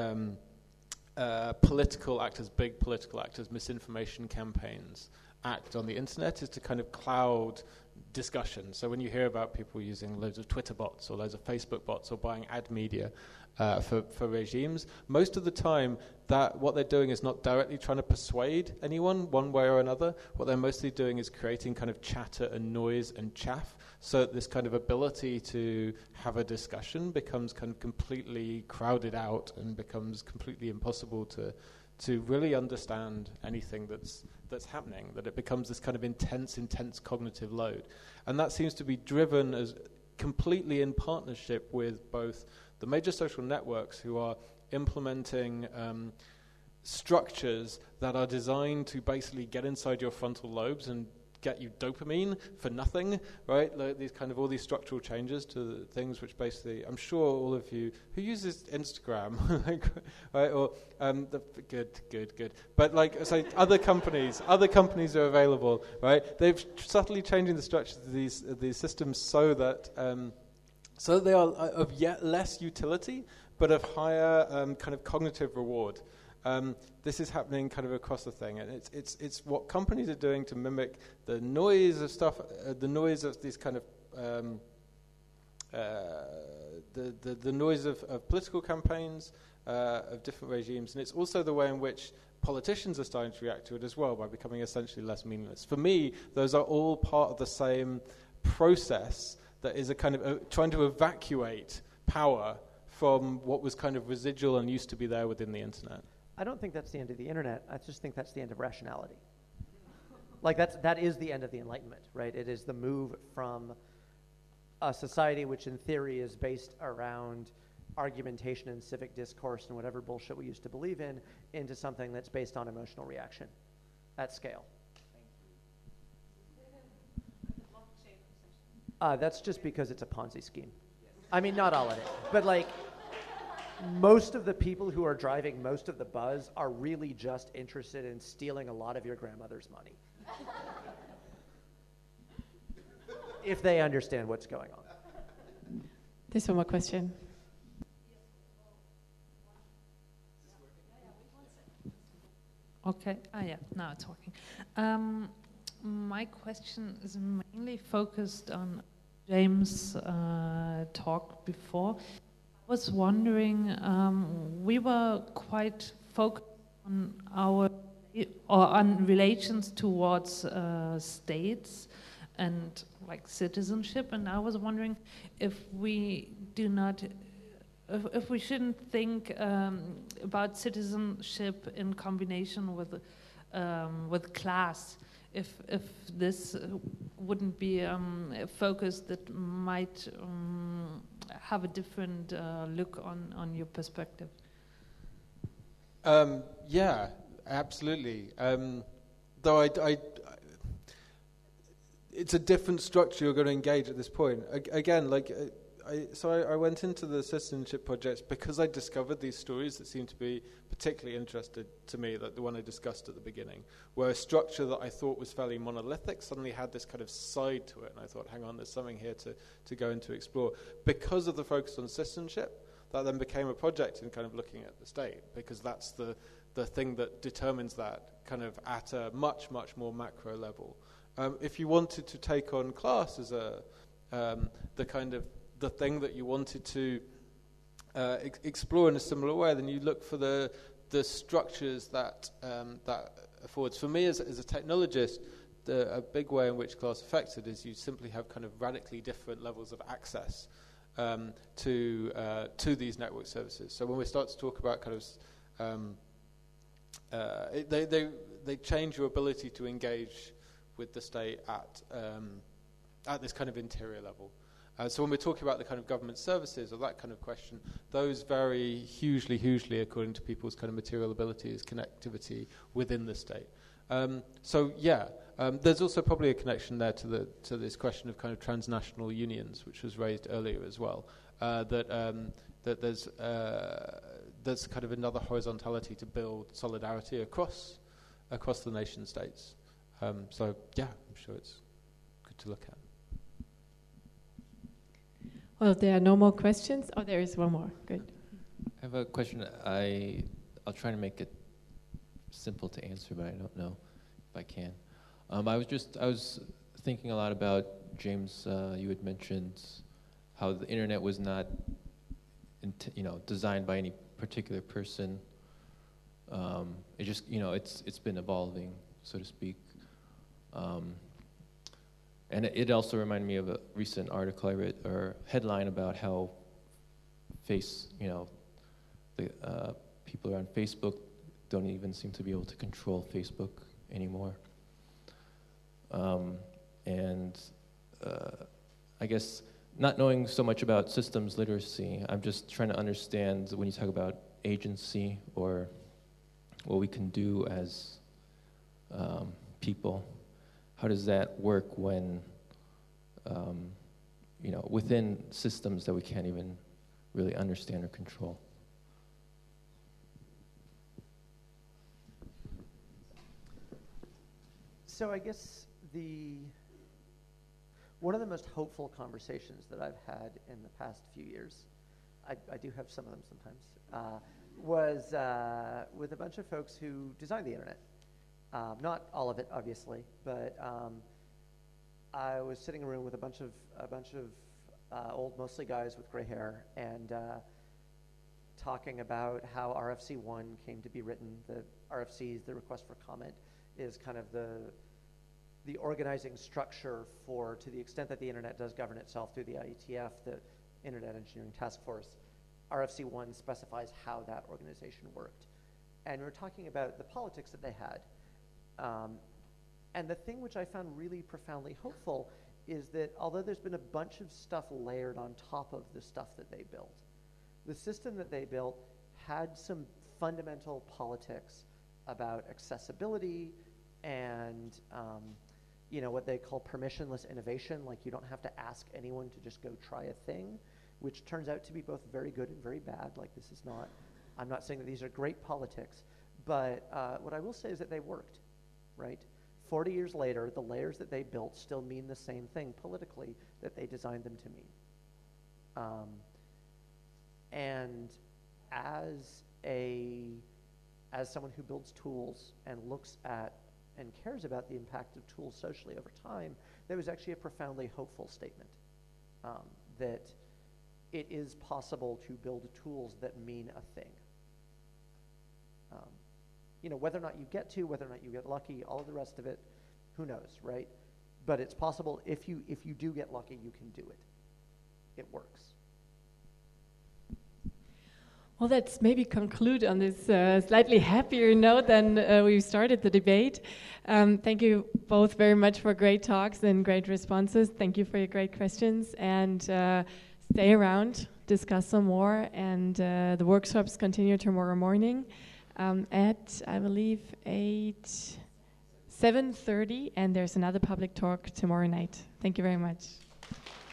S4: political actors, big political actors, misinformation campaigns act on the internet is to kind of cloud discussion. So when you hear about people using loads of Twitter bots or loads of Facebook bots or buying ad media for regimes, most of the time that what they're doing is not directly trying to persuade anyone one way or another. What they're mostly doing is creating kind of chatter and noise and chaff, so that this kind of ability to have a discussion becomes kind of completely crowded out and becomes completely impossible to really understand anything that's happening, that it becomes this kind of intense cognitive load. And that seems to be driven as completely in partnership with both the major social networks, who are implementing structures that are designed to basically get inside your frontal lobes and get you dopamine for nothing, right? Like all these structural changes to the things which basically, I'm sure all of you who uses Instagram, right? Or good. But like, so other companies are available, right? They've subtly changing the structures of these systems so that they are of yet less utility, but of higher kind of cognitive reward. This is happening kind of across the thing, and it's what companies are doing to mimic the noise of stuff, the noise of these kind of the noise of political campaigns, of different regimes, and it's also the way in which politicians are starting to react to it as well, by becoming essentially less meaningless. For me, those are all part of the same process that is a kind of trying to evacuate power from what was kind of residual and used to be there within the internet.
S5: I don't think that's the end of the internet. I just think that's the end of rationality. Like that is the end of the Enlightenment, right? It is the move from a society which in theory is based around argumentation and civic discourse and whatever bullshit we used to believe in, into something that's based on emotional reaction at scale. That's just because it's a Ponzi scheme. I mean, not all of it, but like most of the people who are driving most of the buzz are really just interested in stealing a lot of your grandmother's money. If they understand what's going on.
S3: There's one more question.
S10: Okay, yeah, now it's working. My question is mainly focused on James' talk before. I was wondering, we were quite focused on on relations towards states and like citizenship, and I was wondering if we do not if we shouldn't think about citizenship in combination with class, if this wouldn't be a focus that might have a different look on your perspective.
S11: Yeah, absolutely. Though it's a different structure you're going to engage at this point. Again, like, I went into the citizenship projects because I discovered these stories that seemed to be particularly interested to me, like the one I discussed at the beginning, where a structure that I thought was fairly monolithic suddenly had this kind of side to it, and I thought, hang on, there's something here to go and to explore. Because of the focus on citizenship, that then became a project in kind of looking at the state, because that's the thing that determines that kind of at a much, much more macro level. If you wanted to take on class as the thing that you wanted to explore in a similar way, then you look for the structures that affords. For me, as a technologist, a big way in which class affected is you simply have kind of radically different levels of access to these network services. So when we start to talk about kind of they change your ability to engage with the state at this kind of interior level. So when we're talking about the kind of government services or that kind of question, those vary hugely according to people's kind of material abilities, connectivity within the state. There's also probably a connection there to this question of kind of transnational unions, which was raised earlier as well. That there's kind of another horizontality to build solidarity across the nation states. I'm sure it's good to look at.
S12: Well, there are no more questions. Oh, there is one more. Good.
S13: I have a question. I'll try to make it simple to answer, but I don't know if I can. I was thinking a lot about, James, you had mentioned how the internet was not designed by any particular person. It just, it's been evolving, so to speak. And it also reminded me of a recent article I read, or headline, about how people on Facebook don't even seem to be able to control Facebook anymore. I guess not knowing so much about systems literacy, I'm just trying to understand when you talk about agency or what we can do as people. How does that work when, within systems that we can't even really understand or control?
S5: So I guess one of the most hopeful conversations that I've had in the past few years, I do have some of them sometimes, was with a bunch of folks who designed the internet. Not all of it, obviously, but I was sitting in a room with a bunch of old, mostly guys with gray hair, and talking about how RFC1 came to be written. The RFCs, the request for comment, is kind of the organizing structure for, to the extent that the internet does govern itself through the IETF, the Internet Engineering Task Force. RFC1 specifies how that organization worked. And we're talking about the politics that they had. And the thing which I found really profoundly hopeful is that although there's been a bunch of stuff layered on top of the stuff that they built, the system that they built had some fundamental politics about accessibility and what they call permissionless innovation, like you don't have to ask anyone to just go try a thing, which turns out to be both very good and very bad. Like this is not, I'm not saying that these are great politics, but what I will say is that they worked, right? 40 years later, the layers that they built still mean the same thing politically that they designed them to mean. And as someone who builds tools and looks at and cares about the impact of tools socially over time, there was actually a profoundly hopeful statement that it is possible to build tools that mean a thing. Whether or not you get to, whether or not you get lucky, all of the rest of it, who knows, right? But it's possible if you do get lucky, you can do it. It works.
S12: Well, let's maybe conclude on this slightly happier note than we started the debate. Thank you both very much for great talks and great responses. Thank you for your great questions, and stay around, discuss some more, and the workshops continue tomorrow morning at, I believe, 7:30, and there's another public talk tomorrow night. Thank you very much.